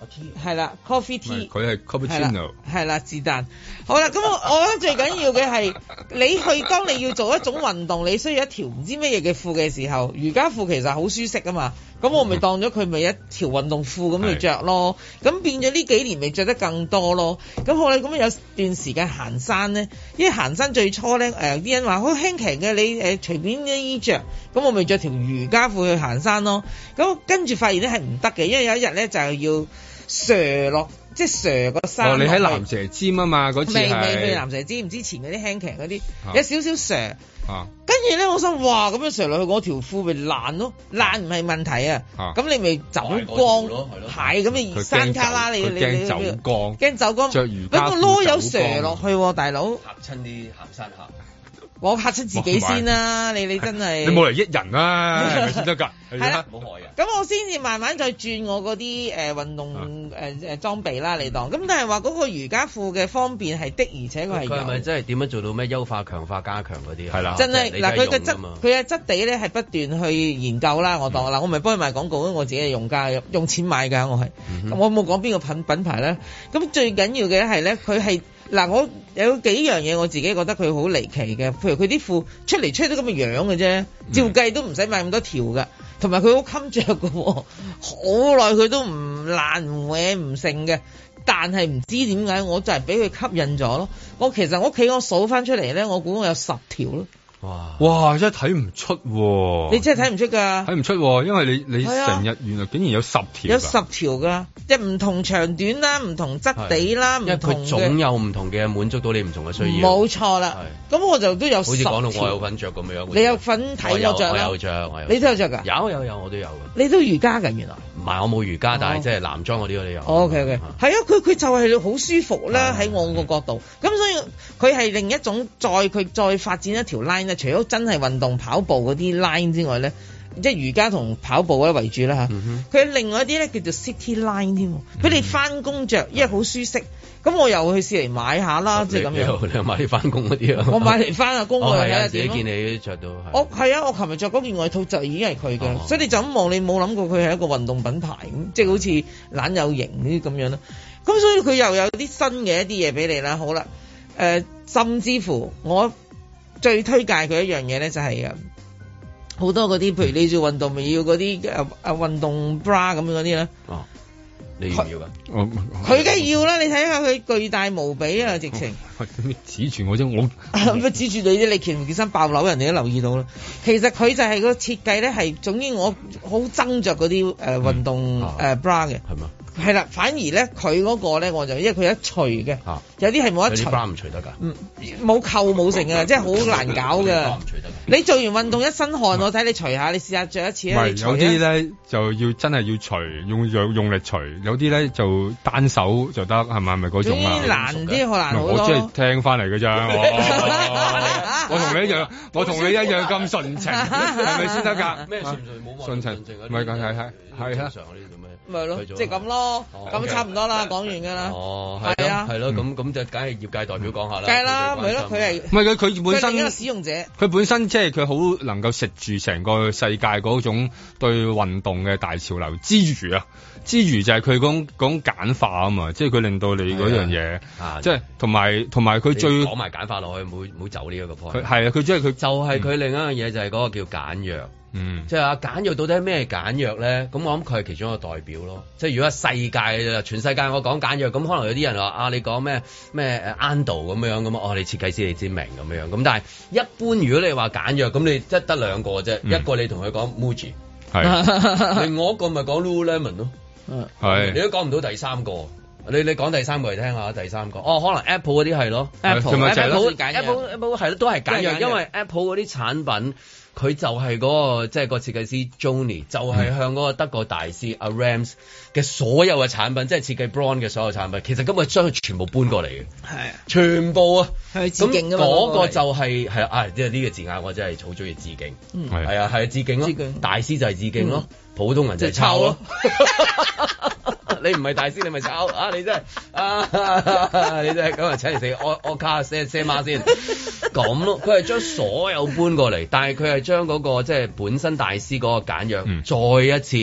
係啦，coffee tea， 佢係 cappuccino， 係啦，是但。好啦，咁我我覺得最緊要嘅係你去，當你要做一種運動，你需要一條唔知乜嘢嘅褲嘅時候，瑜伽褲其實好舒適啊嘛。咁我咪當咗佢咪一條運動褲咁去着咯。咁變咗呢幾年咪着得更多咯。咁好啦，咁有段時間行山咧，因為行山最初咧誒啲人話好輕騎嘅，你誒隨便啲衣着，咁我咪着條瑜伽褲去行山咯。咁跟住發現咧係唔得嘅，因為有一日咧就要瀡落。即係蛇個山。哦，你喺蚺蛇尖啊嘛，嗰次係。未未未蚺蛇尖，唔之前嗰啲輕騎嗰啲，有少少蛇。啊。跟住咧，我心哇，咁樣瀡落去嗰條褲咪爛咯，爛唔係問題啊。咁你咪走光，係咁你山卡啦，你你你。驚走光。驚走光。着瑜伽褲走光。咁個籮柚瀡落去，大佬。 嚇親啲行山客。 我嚇親自己先啦，你你真係。 你冇嚟益人啊，係咪先得㗎？ 係啦，冇害嘅。咁我先至慢慢再轉我嗰啲誒運動誒誒裝備啦，你當。咁但係話嗰個瑜伽褲嘅方便係的，而且佢係。佢係咪真係點樣做到咩優化、強化、加強嗰啲啊？ 係啦。 真係嗱，佢嘅質佢嘅質地咧係不斷去研究啦，我當嗱，我咪幫佢賣廣告，我自己係用家，用錢買㗎，我係。咁我冇講邊個品品牌咧。咁最緊要嘅係咧，佢係。嗱，我有幾樣嘢我自己覺得佢好離奇嘅，譬如佢啲褲出嚟出到咁嘅樣嘅啫，照計都唔使買咁多條㗎，同埋佢好襟着㗎喎，好耐佢都唔爛唔歪唔剩嘅，但係唔知點解我就係俾佢吸引咗咯。我其實我屋企我數翻出嚟咧，我估我有十條咯。 哇！哇！真係睇唔出喎， 你真係睇唔出㗎， 睇唔出喎，因為你你成日原來竟然有十條， 有十條㗎，即係唔同長短啦，唔同質地啦，唔同嘅， 因為佢總有唔同嘅滿足到你唔同嘅需要。 冇錯啦，咁我就都有十條。好似講到我有份着咁樣， 你有份睇我着啦？ 我有着，我有。 你都有着㗎？ 有有有，我都有㗎。 你都瑜伽㗎原來？ 唔係，我冇瑜伽，但係即係男裝嗰啲我都有。 OK OK，係啊，佢佢就係好舒服啦，喺我個角度。咁所以佢係另一種再佢再發展一條 line 咧，除咗真係運動跑步嗰啲 line 之外咧，即係瑜伽同跑步咧為主啦嚇。佢、嗯、哼另外一啲咧叫做 city line 添，俾你翻工着，因為好舒適。咁我又去試嚟買下啦，即係咁樣。 你又買啲翻工嗰啲啊？ 我買嚟翻下工我睇下點。自己見你着到。 我係啊，我琴日着嗰件外套就已經係佢嘅，哦、所以你就咁望，你冇諗過佢係一個運動品牌咁，即係好似懶有型呢啲咁樣啦。咁所以佢又有啲新嘅一啲嘢俾你啦。好啦，誒、呃，甚至乎我最推介佢一樣嘢咧，就係啊，好多嗰啲，譬如你做運動咪要嗰啲誒誒運動 bra 咁樣嗰啲咧。哦。 你要唔要㗎？ 佢梗係要啦！你睇下佢巨大無比啊，直情。 指住我啫，我乜指住你啫？你件唔件衫爆樓，人哋都留意到啦。其實佢就係個設計咧，係總之我好憎着嗰啲誒運動誒 bra 嘅。係嘛？係啦，反而咧佢嗰個咧，我就因為佢一除嘅，有啲係冇得除。 bra 唔除得㗎？嗯， 冇扣冇成㗎，即係好難搞㗎。你做完運動一身汗，我睇你除下，你試下着一次啊！ 唔係有啲咧就要真係要除，用用用力除。有啲咧就單手就得，係咪？係咪嗰種啊？ 難啲，好難好多。 我即係聽翻嚟嘅咋。我同你一樣，我同你一樣咁純情，係咪先得㗎？ 咩純情冇純情？唔係㗎，係係係啊。 咪咯，即係咁咯，咁差唔多啦，講完㗎啦。 哦，係啊，係咯，咁咁就梗係業界代表講下啦。 梗係啦，咪咯，佢係唔係佢佢本身一個使用者， 佢本身即係佢好能夠食住成個世界嗰種對運動嘅大潮流之餘啊，之餘就係佢講講簡化啊嘛，即係佢令到你嗰樣嘢，即係同埋同埋佢最講埋簡化落去，唔好唔好走呢一個 point。 佢係啊，佢即係佢就係佢另一樣嘢就係嗰個叫簡約。嗯，即係啊簡約到底係咩簡約咧？咁我諗佢係其中一個代表咯。即係如果係世界全世界我講簡約，咁可能有啲人話啊，你講咩咩誒 Ando 咁樣咁哦，你設計師你知明咁樣。咁但係一般如果你話簡約，咁你即係得兩個啫。嗯、一個你同佢講 Muji，係另外一個咪講 Lululemon 咯。係是，你都講唔到第三個。你你講第三個嚟聽下，第三個哦，可能 Apple 嗰啲係咯 ，Apple Apple Apple Apple 係咯，都係簡約，因為 Apple 嗰啲產品。佢就係嗰、那個即係、就是、個設計師 Jony，就係向嗰個德國大師阿 Rams 嘅所有嘅產品，即係設計 Braun 嘅所有產品，其實根本將佢全部搬過嚟嘅，係啊，全部啊，係致敬㗎嘛。嗰個就係係啊，即係呢個字眼我真係好中意致敬，係係啊係致敬咯，致敬大師就係致敬咯，嗯、普通人就係抄咯。你唔係大師，你咪抄啊！你真係啊！你真係咁啊！請嚟食我我卡些些媽先咁咯。佢係將所有搬過嚟，但係佢係將嗰個即係本身大師嗰個簡約，嗯、再一次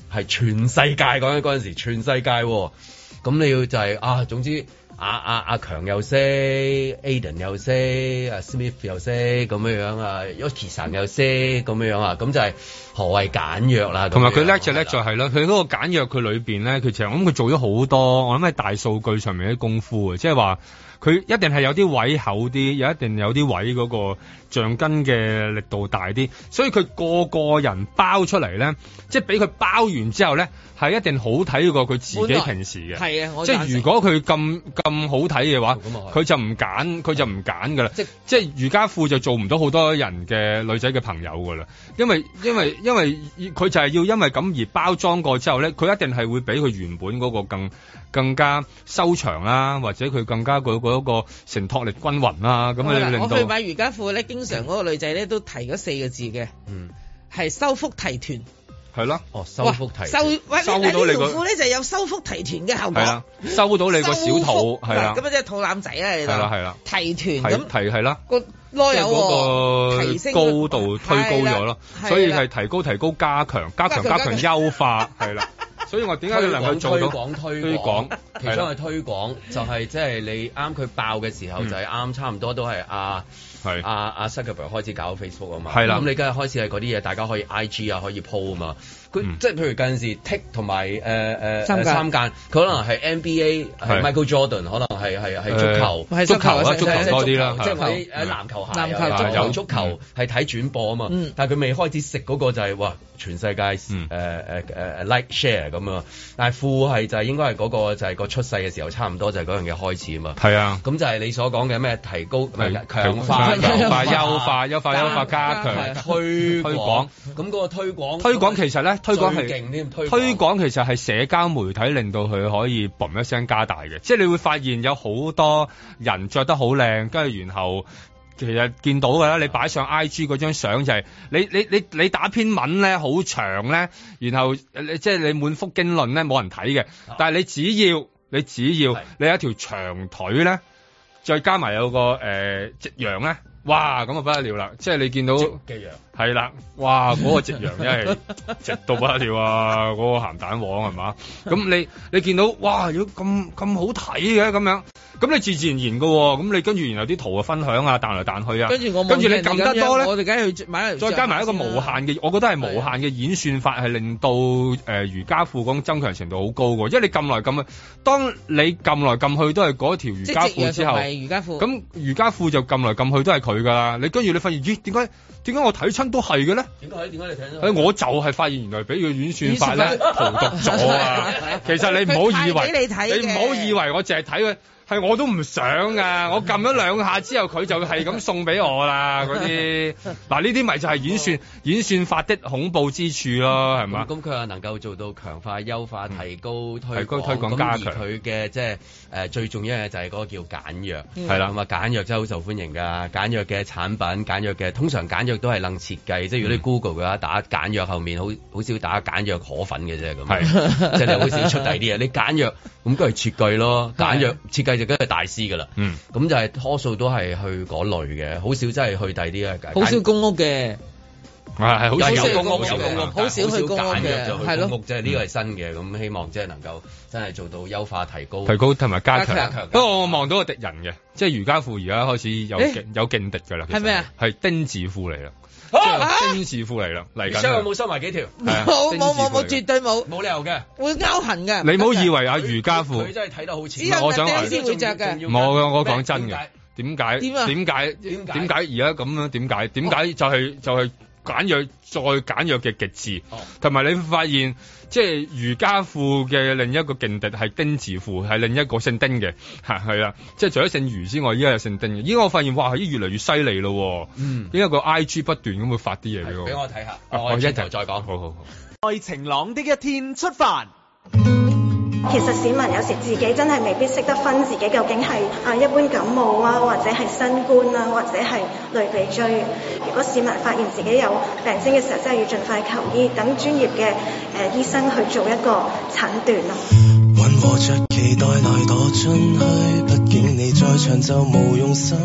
係全世界講緊嗰陣時，全世界咁你要就係、是、啊，總之。阿阿阿強又識 ，Aden 又識，阿 Smith 又識咁樣樣啊 Yoki 神又識咁樣樣啊，咁就係何謂簡約啦。 同埋佢叻就叻就係啦，佢嗰個簡約佢裏邊咧，佢其實我諗佢做咗好多，我諗喺大數據上面啲功夫啊，即係話佢一定係有啲位厚啲，有一定有啲位嗰個橡筋嘅力度大啲，所以佢個個人包出嚟咧，即係俾佢包完之後咧。係一定好睇過佢自己平時嘅， 係啊， 即係如果佢咁咁好睇嘅話，佢就唔揀，佢就唔揀噶啦。即即係瑜伽褲就做唔到好多人嘅女仔嘅朋友噶啦，因為因為因為佢就係要因為咁而包裝過之後咧，佢一定係會比佢原本嗰個更更加修長啦，或者佢更加嗰嗰個承托力均勻啦。咁啊令到我去買瑜伽褲咧，經常嗰個女仔咧都提嗰四個字嘅，嗯，係收腹提臀。 係咯， 哦，收腹提， 收， 收到你個褲咧就有收腹提臀嘅效果，係啦， 收到你個小肚，係啦， 咁啊即係肚腩仔啦，係啦係啦， 提臀咁， 提係啦， 個囉柚個提升高度推高咗咯，所以係提高提高加強加強加強優化係啦，所以我點解你能夠做到推廣推廣，其中係推廣就係即係你啱佢爆嘅時候就係啱差唔多都係啊。係阿阿 Zuckerberg 開始搞 Facebook 啊嘛，係啦，咁你梗係開始係嗰啲嘢，大家可以 I G 啊可以 po 啊嘛，佢、嗯、即係譬如近時 Tick 同埋誒誒三間，佢可能係 N B A 係 Michael Jordan，可能係係係足球， 呃、足球啊足球多啲啦， 即係喺誒籃球鞋，籃球有足球係睇轉播啊嘛，嗯、但係佢未開始食嗰個就係、是、哇全世界誒誒誒誒 like share 咁啊，但係褲係就係應該係嗰個就係個出世嘅時候差唔多就係嗰樣嘢開始啊嘛， 係啊， 咁就係你所講嘅咩提高強化。 優化、優化、優化、優化、加強、 推廣，咁嗰個推廣， 推廣其實咧，推廣係勁添，推推廣其實係社交媒體令到佢可以嘣一聲加大嘅，即係你會發現有好多人着得好靚，跟住然後其實見到㗎啦，你擺上 I G 嗰張相就係、是、你你你你打篇文咧好長咧，然後即係你滿腹經綸咧冇人睇嘅，但係你只要你只要你有一條長腿咧。再加埋有個誒夕陽咧，哇咁啊不得了啦！即係你見到夕陽係啦，哇嗰、那個夕陽真係直到不得了啊！嗰、那個鹹蛋黃係嘛？咁你你見到哇，如果咁咁好睇嘅咁樣，咁你自自然然㗎喎，咁你跟住然後啲圖啊分享啊彈嚟彈去啊，跟住我跟住你撳得多咧， 我哋梗係去買， 再加埋一個無限嘅，我覺得係無限嘅演算法係令到誒、呃、瑜伽褲嗰增強程度好高嘅，因為你撳來撳去，當你撳來撳去都係嗰條瑜伽褲之後， 瑜伽褲咁瑜伽褲就撳來撳去都係佢㗎啦。你跟住你發現咦點解點解我睇親都係嘅咧？ 點解點解你睇親？ 我就係發現原來俾佢演算法咧荼毒咗啊！其實你唔好以為你唔好以為我淨係睇佢。係我都唔想噶，我撳咗兩下之後，佢就係咁送俾我啦。嗰啲嗱呢啲咪就係演算演算法的恐怖之處咯，係嘛？ 咁佢又能夠做到強化、優化、提高、推廣、推廣加強。 佢嘅即係誒最重要嘅就係嗰個叫簡約， 係啦。 咁啊簡約真係好受歡迎㗎。簡約嘅產品，簡約嘅通常簡約都係能設計，即係如果你 Google 嘅話，打簡約後面好好少打簡約可粉嘅啫咁。係，即係你好少出第啲嘢。你簡約咁都係設計咯，簡約設計。就梗係大師噶啦，嗯，咁就係多數都係去嗰類嘅，好少真係去第啲嘅， 好少公屋嘅， 係係好少有公屋有公屋， 好少去公屋嘅， 係咯，即係呢個係新嘅，咁希望即係能夠真係做到優化、提高、 提高同埋加強。不過我望到個敵人嘅，即係瑜伽褲而家開始有勁有勁敵㗎啦， 係咩啊？ 係丁字褲嚟啦。丁字褲嚟啦，嚟緊。 所以有冇收埋幾條？ 冇冇冇冇，絕對冇， 冇理由嘅， 會勾痕嘅。 你唔好以為啊瑜伽褲， 佢真係睇得好似。 我想話先會着嘅。 冇嘅，我講真嘅。點解？ 點啊？ 點解？點解而家咁樣？點解？點解就係就係簡約再簡約嘅極致，同埋你會發現。即係瑜伽褲嘅另一個勁敵係丁字褲，係另一個姓丁嘅嚇係啦。即係除咗姓余之外，依家有姓丁嘅。依家我發現哇，係越嚟越犀利咯。嗯，因為個 I G 不斷咁會發啲嘢俾我。 俾我睇下， 啊、我一陣再講。好好好。 在晴朗的一天出發。 其實市民有時自己真係未必識得分自己究竟係啊一般感冒啊，或者係新冠啊，或者係類鼻疽。如果市民發現自己有病徵嘅時候，真係要盡快求醫，等專業嘅誒、呃、醫生去做一個診斷咯。 混和着期待來躲進去，畢竟你在場就無用心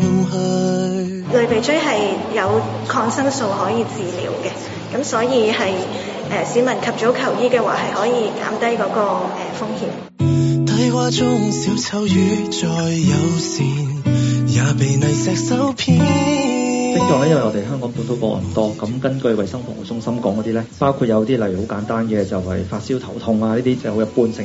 去。 類鼻疽係有抗生素可以治療嘅，咁所以係。 呃、市民及早求醫嘅話，係可以減低嗰、那個誒、呃、風險。 低窪中小丑魚再友善，也被泥石手騙。 症狀咧，因為我哋香港本土個案多，咁根據衛生防護中心講嗰啲咧，包括有啲例如好簡單嘅就係發燒頭痛啊，呢啲就好一般性。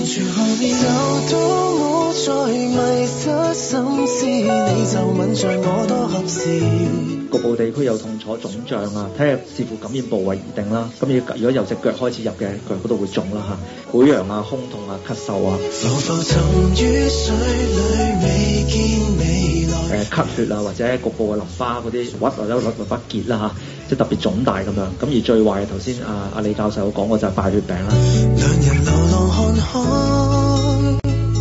局部地區有痛楚、腫脹啊，睇下視乎感染部位而定啦。咁要如果由隻腳開始入嘅，腳嗰度會腫啦嚇，潰瘍啊、胸痛啊、咳嗽啊。誒咳血啊，或者局部嘅淋巴嗰啲鬱或者淋巴結啦嚇，即係特別腫大咁樣。咁而最壞嘅頭先阿阿李教授講過就係敗血病啦。兩人流浪看看，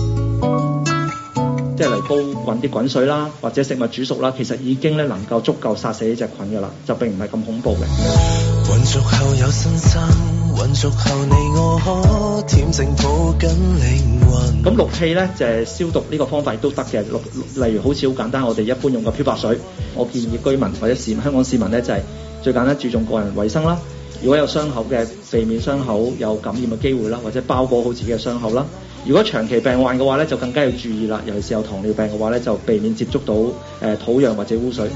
即係嚟煲滾啲滾水啦，或者食物煮熟啦，其實已經咧能夠足夠殺死呢隻菌㗎啦，就並唔係咁恐怖嘅。混熟後有新生，混熟後你我可舔成抱緊靈魂。咁氯氣咧就係、是、消毒呢個方法亦都得嘅，例如好似好簡單，我哋一般用個漂白水。我建議居民或者市香港市民咧就係、是、最簡單注重個人衛生啦。如果有傷口嘅，避免傷口有感染嘅機會啦，或者包裹好自己嘅傷口啦。如果長期病患嘅話咧，就更加要注意啦。尤其是有糖尿病嘅話咧，就避免接觸到誒、呃、土壤或者污水。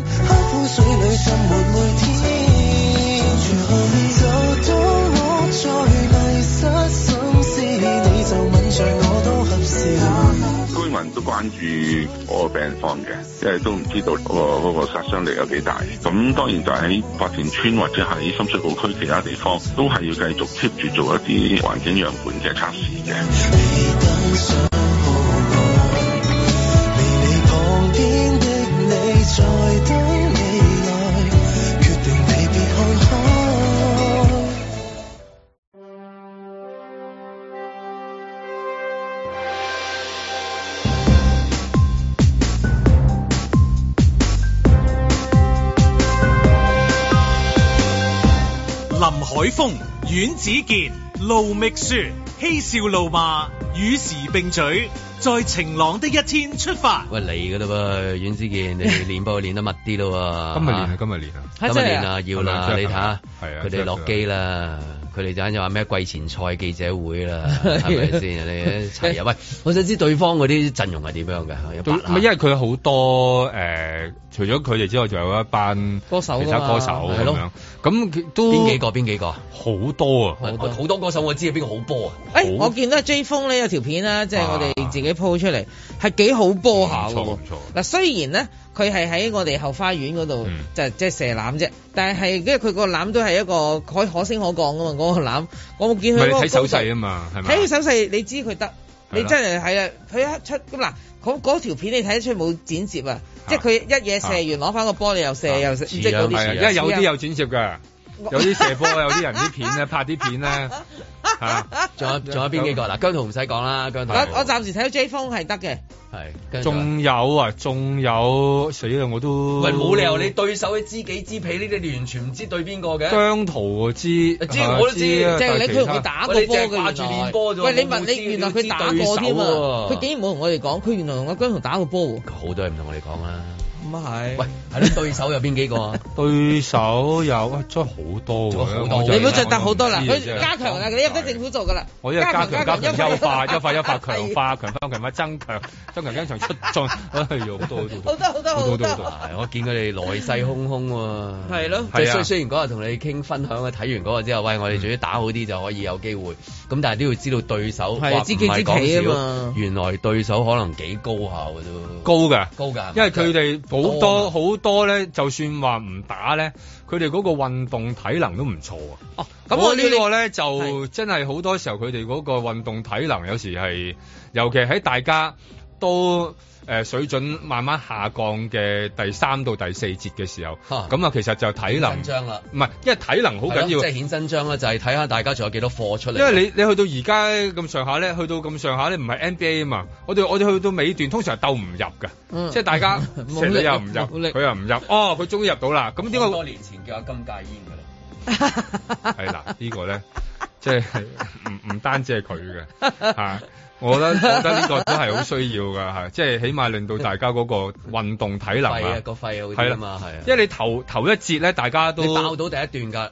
居民都關注我個病況嘅，因為都唔知道嗰個嗰個殺傷力有幾大。咁當然就喺發田村或者喺深水埗區其他地方，都係要繼續 keep 住做一啲環境樣本嘅測試嘅。 林海峰、阮子健、盧覓雪，嬉笑怒罵，與時並舉，在晴朗的一天出發。 喂，嚟噶啦噃，阮子健，你練波練得密啲咯喎。 今日練啊，今日練啊， 今日練啊，要啦，你睇下，佢哋落機啦。佢哋陣就話咩季前賽記者會啦，係咪先？你齊啊！喂，我想知對方嗰啲陣容係點樣嘅？ 唔係因為佢好多誒、呃，除咗佢哋之外，仲有一班歌手， 其他歌手咁樣。咁都邊幾個？邊幾個？ 好多啊！ 好多好多歌手，我知係邊個好波啊！ 誒、欸，我見到 J 風咧有條片啦，即係我哋自己 po 出嚟，係幾好波下喎。嗱，雖然咧。佢係喺我哋後花園嗰度，嗯、就即係射籃啫。但係因為佢個籃都係一個可可升可降噶嘛，嗰、嗰個籃我冇見佢。睇手勢啊嘛，係咪？ 睇佢手勢，你知佢得，你真係係啊！佢一出咁嗱，嗰嗰條片你睇得出冇剪接啊，即係佢一嘢射完攞翻個波，你又射、啊、又射，即係嗰啲。 因為有啲有剪接㗎，有啲射波，有啲人啲片咧拍啲片咧嚇。 仲有仲有邊幾個嗱？姜濤唔使講啦，姜濤。 我我暫時睇到 J 風係得嘅。 係， 仲有啊，仲有死啦！我都喂，冇理由你對手知己知彼，呢啲你完全唔知對邊個嘅。 姜濤我知， 知我都知，即係你佢同佢打過波嘅。 掛住練波啫。 喂，你問你原來佢打過添啊？佢竟然冇同我哋講，佢原來同阿姜濤打過波喎。 好多人唔同我哋講啦。 咁啊係。喂， 係咯，對手有邊幾個啊？ 對手有真係好多喎。 好多。 你唔好再答好多啦，佢加強啊！你入得政府做㗎啦。 我因為加強加強優化優化優化強化強化強化增強增強增強出進，哎呀好多好多好多好多好多。 係我見佢哋來勢洶洶喎。 係咯。 即係雖雖然嗰日同你傾分享啊，睇完嗰個之後，喂，我哋仲要打好啲就可以有機會。咁但係都要知道對手係知己知彼啊嘛。 原來對手可能幾高下嘅都。 高㗎， 高㗎。 因為佢哋好多好多咧，就算話唔打咧，佢哋嗰個運動體能都唔錯啊。哦，咁我呢個咧就真係好多時候佢哋嗰個運動體能有時係，尤其喺大家都。誒、呃、水準慢慢下降嘅第三到第四節嘅時候，咁啊其實就體能，唔係，因為體能好緊要， 即係顯身章啦，就係睇下大家仲有幾多貨出嚟。 因為你你去到而家咁上下咧，去到咁上下咧，唔係 N B A 啊嘛，我哋我哋去到尾段通常係鬥唔入㗎，嗯、即係大家成日又唔入，佢又唔入，哦佢終於入到啦，咁點解？ 好多年前叫阿金戒煙㗎啦， 係啦，呢個咧即係唔唔單止係佢嘅嚇。我覺得我覺得呢個都係好需要噶嚇，即係起碼令到大家嗰個運動體能啊， 個肺好啲啊嘛，係啊， 因為你頭頭一節咧，大家都你爆到第一段㗎，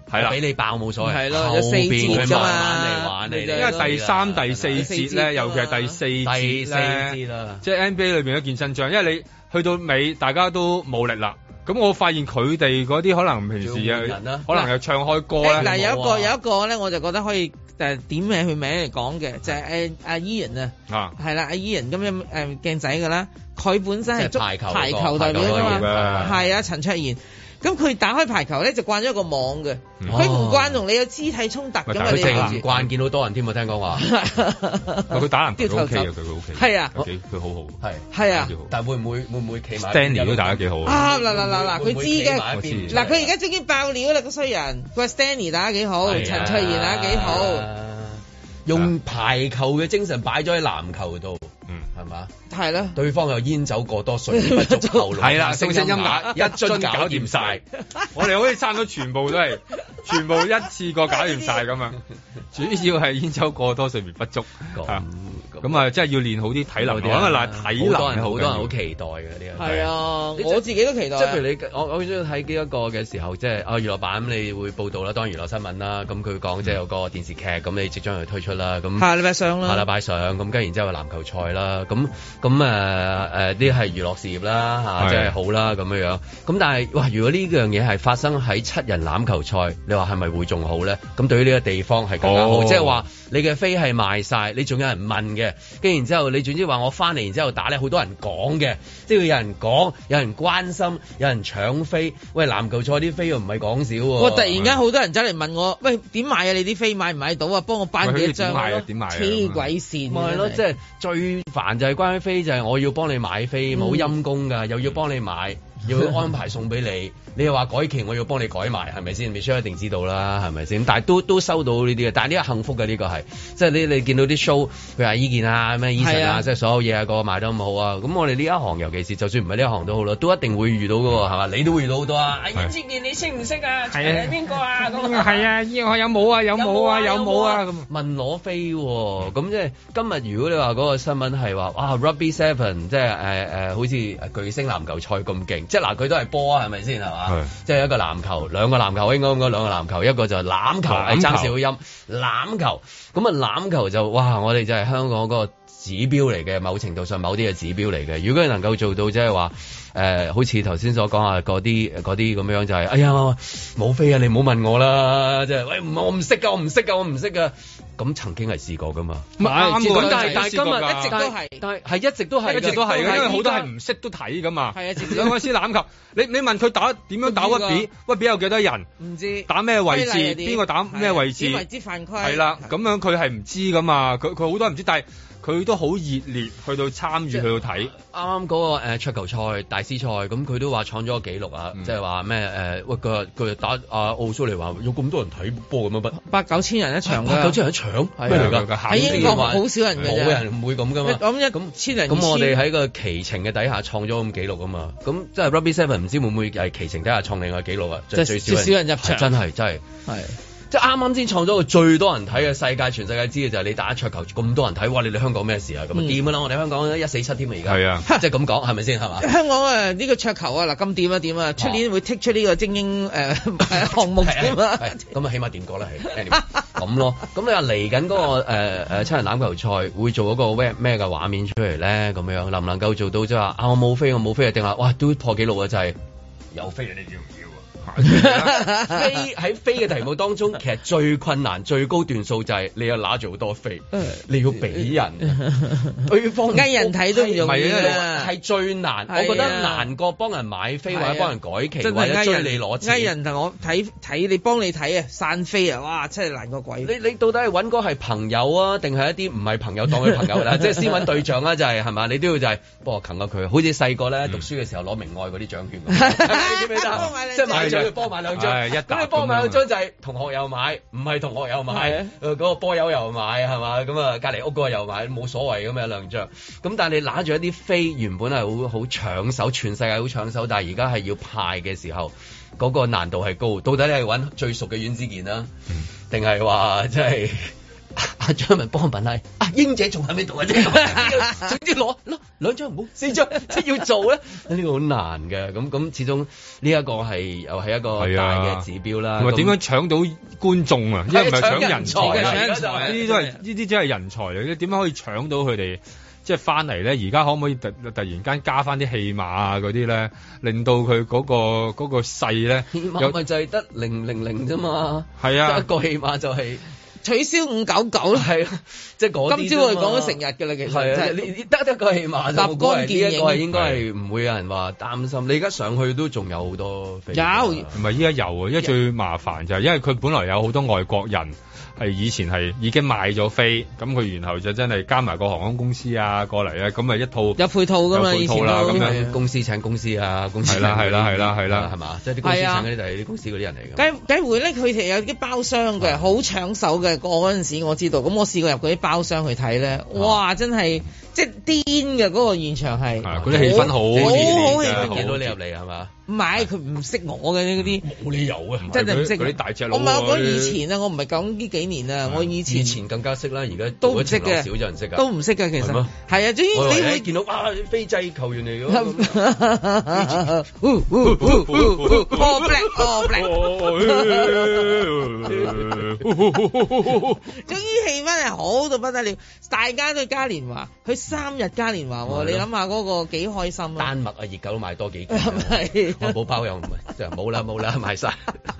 係啦， 俾你爆冇所謂， 係咯，有四節㗎嘛， 慢慢嚟玩你。 因為第三、第四節咧，尤其係第四節咧，即係 N B A 裏邊一件真章，因為你去到尾大家都冇力啦。咁我發現佢哋嗰啲可能平時啊，可能又唱開歌咧。 嗱、欸、有一個有一個咧，我就覺得可以誒點名佢名嚟講嘅，就係誒阿 Ian 啊，係啦，阿 Ian 咁樣誒鏡仔㗎啦，佢本身係足排球排球代表㗎嘛，係啊陳卓賢。咁佢打開排球咧就慣咗一個網嘅，佢唔慣同你有肢體衝突咁啊！ 你唔慣見到多人添啊！聽講話， 佢打籃球 OK 啊，佢 OK， 係啊， 佢好好， 係係啊， 但會唔會會唔會企埋 Stanley 都打得幾好啊！嗱嗱嗱嗱，佢知嘅，嗱佢而家終於爆料啦個衰人，佢話 Stanley 打得幾好，陳卓賢打得幾好， 用排球嘅精神擺咗喺籃球度。嗯，係嘛？ 係啦， 對方又煙酒過多，水不足後腦，係啦，聲聲音啞，一樽搞掂晒。 我哋好似差唔多全部都係，全部一次過搞掂晒咁啊！主要係煙酒過多，睡眠不足。咁咁啊，真係要練好啲體能。咁啊，嗱，體能好多人好多人好期待嘅呢個。係啊， 我自己都期待。 即係譬如你，我我好中意睇呢一個嘅時候，即係啊娛樂版咁，你會報道啦，當然娛樂新聞啦。咁佢講即係有個電視劇，咁你即將去推出啦。咁下禮拜上啦， 下禮拜上，咁跟然之後籃球賽啦，咁咁誒誒啲係娛樂事業啦嚇，即係好啦咁樣樣。咁但係哇，如果呢樣嘢係發生喺七人欖球賽，你話係咪會仲好咧？咁對於呢個地方係更加好，即係話你嘅飛係賣晒，你仲有人問嘅，跟然之後你總之話我翻嚟，然之後打咧，好多人講嘅，即係有人講，有人關心，有人搶飛。喂，籃球賽啲飛又唔係講少喎。我突然間好多人走嚟問我，喂，點買啊？你啲飛買唔買到啊？幫我頒幾一張。點買啊？點買啊？黐鬼線。 咪係咯，即係最煩就係關於飛，就係我要幫你買飛，冇陰功㗎，又要幫你買，要安排送俾你。你又話改期，我要幫你改埋，係咪先？Michelle一定知道啦，係咪先？但係都都收到呢啲嘅，但係呢個幸福嘅呢、呢個係，即係你你見到啲 show，譬如話伊健啊、咩 Eason 啊，即係所有嘢啊，個個賣得咁好啊。咁我哋呢一行，尤其是就算唔係呢一行都好啦，都一定會遇到㗎喎，係嘛？你都會遇到好多啊！阿伊健你識唔識啊？係邊個啊？咁係啊，我有冇啊？有冇啊？有冇啊？咁問攞飛喎，咁即係今日如果你話嗰個新聞係話，哇 Rugby Seven 即係誒誒，好似巨星籃球賽咁勁，即係嗱佢都係波啊，係咪先係嘛？即係一個籃球，兩個籃球應該應該兩個籃球，一個就係欖球，係爭少音欖球。咁啊欖球就哇，我哋就係香港嗰個指標嚟嘅，某程度上某啲嘅指標嚟嘅。如果你能夠做到即係話誒，好似頭先所講啊，嗰啲嗰啲咁樣就係、是，哎呀冇飛啊，你唔好問我啦，即係喂唔我唔識㗎，我唔識㗎，我唔識㗎。咁曾經係試過㗎嘛？唔係，咁但係但係今日一直都係，但係係一直都係，一直都係，因為好多係唔識都睇㗎嘛。係啊，兩個師欖球，你你問佢打點樣打屈比？屈比有幾多人？唔知打咩位置？邊個打咩位置？邊為之犯規？係啦，咁樣佢係唔知㗎嘛？佢佢好多人唔知，但係佢都好熱烈去到參與去到睇。啱啱嗰個誒桌球賽大師賽，咁佢都話創咗個紀錄啊！即係話咩誒？喂，佢佢打阿奧蘇嚟話有咁多人睇波咁樣，八九千人一場，八九千人一場咩嚟㗎？喺英國好少人嘅，冇人唔會咁㗎嘛。咁一咁千人，咁我哋喺個奇情嘅底下創咗咁紀錄啊嘛。咁即係 Rugby Seven 唔知會唔會係奇情底下創另外紀錄啊？即係最少人入場，真係真係係。即係啱啱先創咗個最多人睇嘅世界，全世界知嘅就係你打桌球咁多人睇，哇！你哋香港咩事啊？咁啊掂㗎啦！我哋香港一四七添啊，而家係啊，即係咁講係咪先係嘛？香港啊呢個桌球啊嗱咁掂啊掂啊！出年會剔出呢個精英誒項目㗎嘛？咁啊起碼掂過啦係咁咯。咁你話嚟緊嗰個誒誒七人欖球賽會做嗰個咩咩嘅畫面出嚟咧？咁樣能唔能夠做到即係話啊我冇飛我冇飛定係哇都破紀錄啊！就係有飛你要唔要？飛喺飛嘅題目當中，其實最困難、最高段數就係你要拿住好多飛，你要俾人，對方嗌人睇都唔容易啊！係最難，我覺得難過幫人買飛或者幫人改期或者追你攞錢。嗌人同我睇睇你幫你睇啊，散飛啊，哇！真係難過鬼。你你到底係揾個係朋友啊，定係一啲唔係朋友當佢朋友啦？即係先揾對象啦，就係係嘛？你都要就係幫我擒下佢，好似細個咧讀書嘅時候攞明愛嗰啲獎券咁，記唔記得？即係買獎。幫買兩張，咁你幫買兩張就係同學又買，唔係同學又買，誒嗰個波友又買係嘛？咁啊隔離屋嗰個又買，冇所謂咁有兩張。咁但係你拿住一啲飛，原本係好好搶手，全世界好搶手，但係而家係要派嘅時候，嗰個難度係高。到底你係揾最熟嘅阮子健啦，定係話即係阿張文幫我問下，阿英姐仲喺咪度啊？總之攞攞兩張唔好四張，即係要做咧，呢個好難嘅。咁咁始終呢一個係又係一個大嘅指標啦。 同埋點樣搶到觀眾啊？因為唔係搶人才啊，呢啲都係呢啲真係人才嚟嘅。點樣可以搶到佢哋？即係翻嚟咧，而家可唔可以突突然間加翻啲戲碼啊嗰啲咧，令到佢嗰、嗰個嗰、嗰個勢咧， 戲碼咪就係得零零零啫嘛。係啊， 一個戲碼就係、係、 取消五九九啦。係啊，即係嗰啲。今朝我哋講咗成日㗎啦，其實係啊，你得得個戲碼就立竿見影。呢一個應該係唔會有人話擔心。你而家上去都仲有好多飛。有， 唔係依家有啊，因為最麻煩就係因為佢本來有好多外國人。係以前係已經買咗飛，咁佢然後就真係加埋個航空公司啊過嚟啊，咁咪一套有配套㗎嘛， 有配套啦，咁樣公司請公司啊，公司係啦係啦係啦係啦， 係嘛？即係啲公司請嗰啲就係啲公司嗰啲人嚟嘅。 計計回咧，佢哋有啲包廂嘅，好搶手嘅。嗰陣時我知道，咁我試過入嗰啲包廂去睇咧，哇！真係即係癲嘅嗰個現場係， 嗰啲氣氛好好氣氛， 見到你入嚟係嘛？ 唔係佢唔識我嘅嗰啲， 冇理由啊！ 真係唔識嗰啲大隻佬。 我唔係講以前啊，我唔係講呢幾年啊，我以前以前更加識啦，而家都唔識嘅， 少咗人識㗎， 都唔識㗎其實。係啊，總之你會見到啊，非制球員嚟㗎。 All black, all black。總之氣氛係好到不得了，大家都嘉年華，佢三日嘉年華喎，你諗下嗰個幾開心啊！ 丹麥啊，熱狗都買多幾件。係，漢堡包又唔係，就冇啦冇啦，賣晒。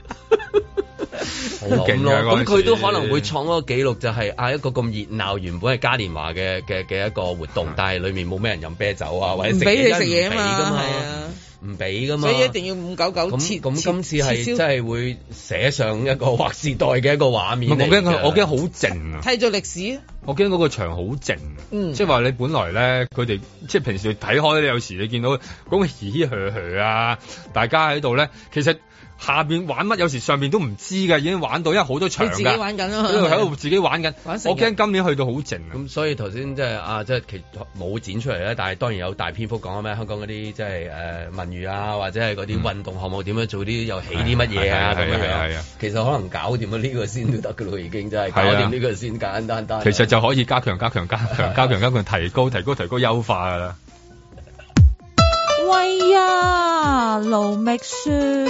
好勁咯！咁佢都可能會創嗰個紀錄，就係啊一個咁熱鬧，原本係嘉年華嘅嘅嘅一個活動，但係裡面冇咩人飲啤酒啊，或者食嘢，唔俾㗎嘛，唔俾㗎嘛， 所以一定要五九九切。 咁今次係真係會寫上一個劃時代嘅一個畫面。 我驚佢，我驚好靜啊！ 睇咗歷史， 我驚嗰個場好靜。嗯，即係話你本來咧，佢哋即係平時睇開咧，有時你見到嗰個嘻嘻呵呵啊，大家喺度咧，其實。下邊玩乜？有時上邊都唔知㗎，已經玩到，因為好多場㗎。 自己玩緊咯， 喺度喺度自己玩緊。我驚今年去到好靜啊！ 咁所以頭先即係啊，即係其冇剪出嚟咧，但係當然有大篇幅講咩香港嗰啲即係誒文娛啊，或者係嗰啲運動項目點樣做啲又起啲乜嘢啊咁樣樣。其實可能搞掂咗呢個先都得㗎咯，已經真係搞掂呢個先簡簡單單。 其實就可以加強、加強、加強、加強、加強，提高、提高、提高、優化㗎啦。 喂呀，盧覓雪。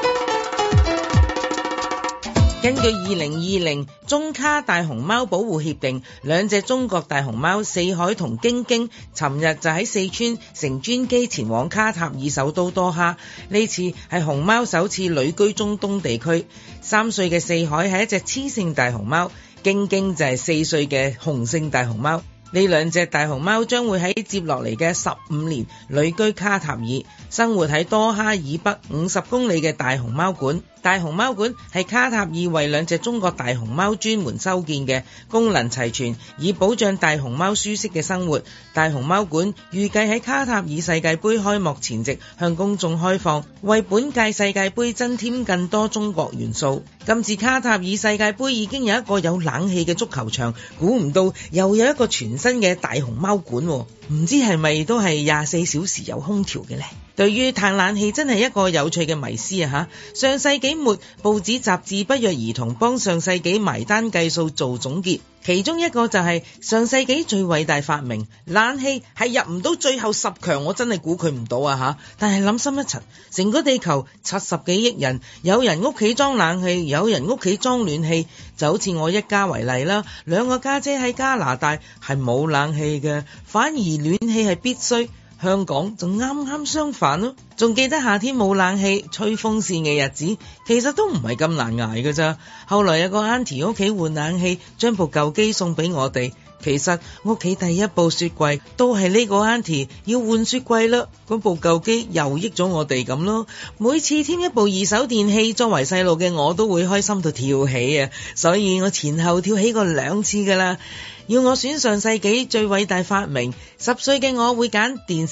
根據二零二零中卡大熊貓保護協定，兩隻中國大熊貓四海同京京，尋日就喺四川乘專機前往卡塔爾首都多哈。呢次係熊貓首次旅居中東地區。三歲嘅四海係一隻雌性大熊貓，京京就係四歲嘅雄性大熊貓。呢兩隻大熊貓將會喺接落嚟嘅十五年旅居卡塔爾，生活喺多哈以北五十公里嘅大熊貓館。大熊貓館係卡塔爾為兩隻中國大熊貓專門修建嘅，功能齊全，以保障大熊貓舒適嘅生活。大熊貓館預計喺卡塔爾世界盃開幕前夕向公眾開放，為本屆世界盃增添更多中國元素。今次卡塔爾世界盃已經有一個有冷氣嘅足球場，估唔到又有一個全新嘅大熊貓館，唔知係咪都係廿四小時有空調嘅呢？對於嘆冷氣真係一個有趣嘅迷思啊！嚇，上世紀末報紙雜誌不約而同幫上世紀埋單計數做總結，其中一個就係上世紀最偉大發明冷氣係入唔到最後十強，我真係估佢唔到啊！嚇，但係諗深一層，成個地球七十幾億人，有人屋企裝冷氣，有人屋企裝暖氣，就好似我一家為例啦，兩個家姐喺加拿大係冇冷氣嘅，反而暖氣係必須。香港就啱啱相反咯，仲記得夏天冇冷氣吹風扇嘅日子，其實都唔係咁難捱㗎咋。後來有個 auntie 屋企換冷氣，將部舊機送俾我哋。其實屋企第一部雪櫃都係呢個 auntie 要換雪櫃啦，嗰部舊機又益咗我哋咁咯。每次添一部二手電器，作為細路嘅我都會開心到跳起啊！所以我前後跳起過兩次㗎啦。要我選上世紀最偉大發明，十歲嘅我會揀電視，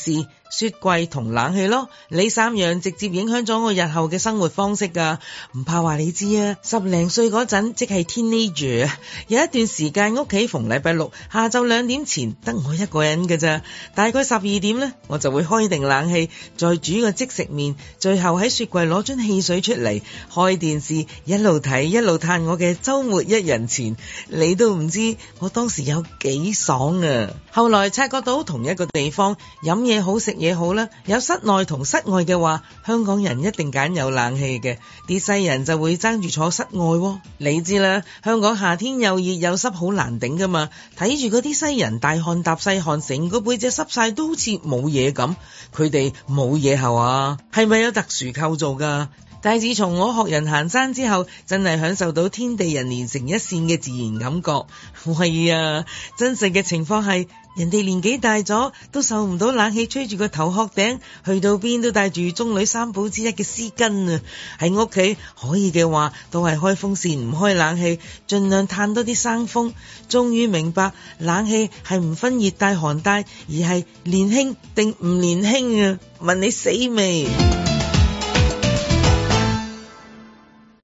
雪櫃同冷氣咯，呢三樣直接影響咗我日後嘅生活方式㗎。唔怕話你知啊，十零歲嗰陣即係 teenager， 有一段時間屋企逢禮拜六下晝兩點前得我一個人㗎咋，大概十二點呢，我就會開定冷氣，再煮個即食麵，最後喺雪櫃攞樽汽水出嚟，開電視一路睇一路嘆我嘅週末一人前，你都唔知我當時有幾爽啊！後來察覺到同一個地方飲嘢好食嘢好啦，有室內同室外嘅話，香港人一定揀有冷氣嘅，啲西人就會爭住坐室外喎。你知啦，香港夏天又熱又濕，好難頂噶嘛。睇住嗰啲西人大汗搭細汗，成個背脊濕晒都好似冇嘢咁，佢哋冇嘢係啊？係咪有特殊構造噶？但係自從我學人行山之後，真係享受到天地人連成一線嘅自然感覺。喂啊，真實嘅情況係，人哋年紀大咗都受唔到冷氣吹住個頭殼頂，去到邊都帶住中女三寶之一嘅絲巾啊！喺屋企可以嘅話，都係開風扇唔開冷氣，盡量嘆多啲生風。終於明白冷氣係唔分熱帶寒帶，而係年輕定唔年輕啊！問你死未？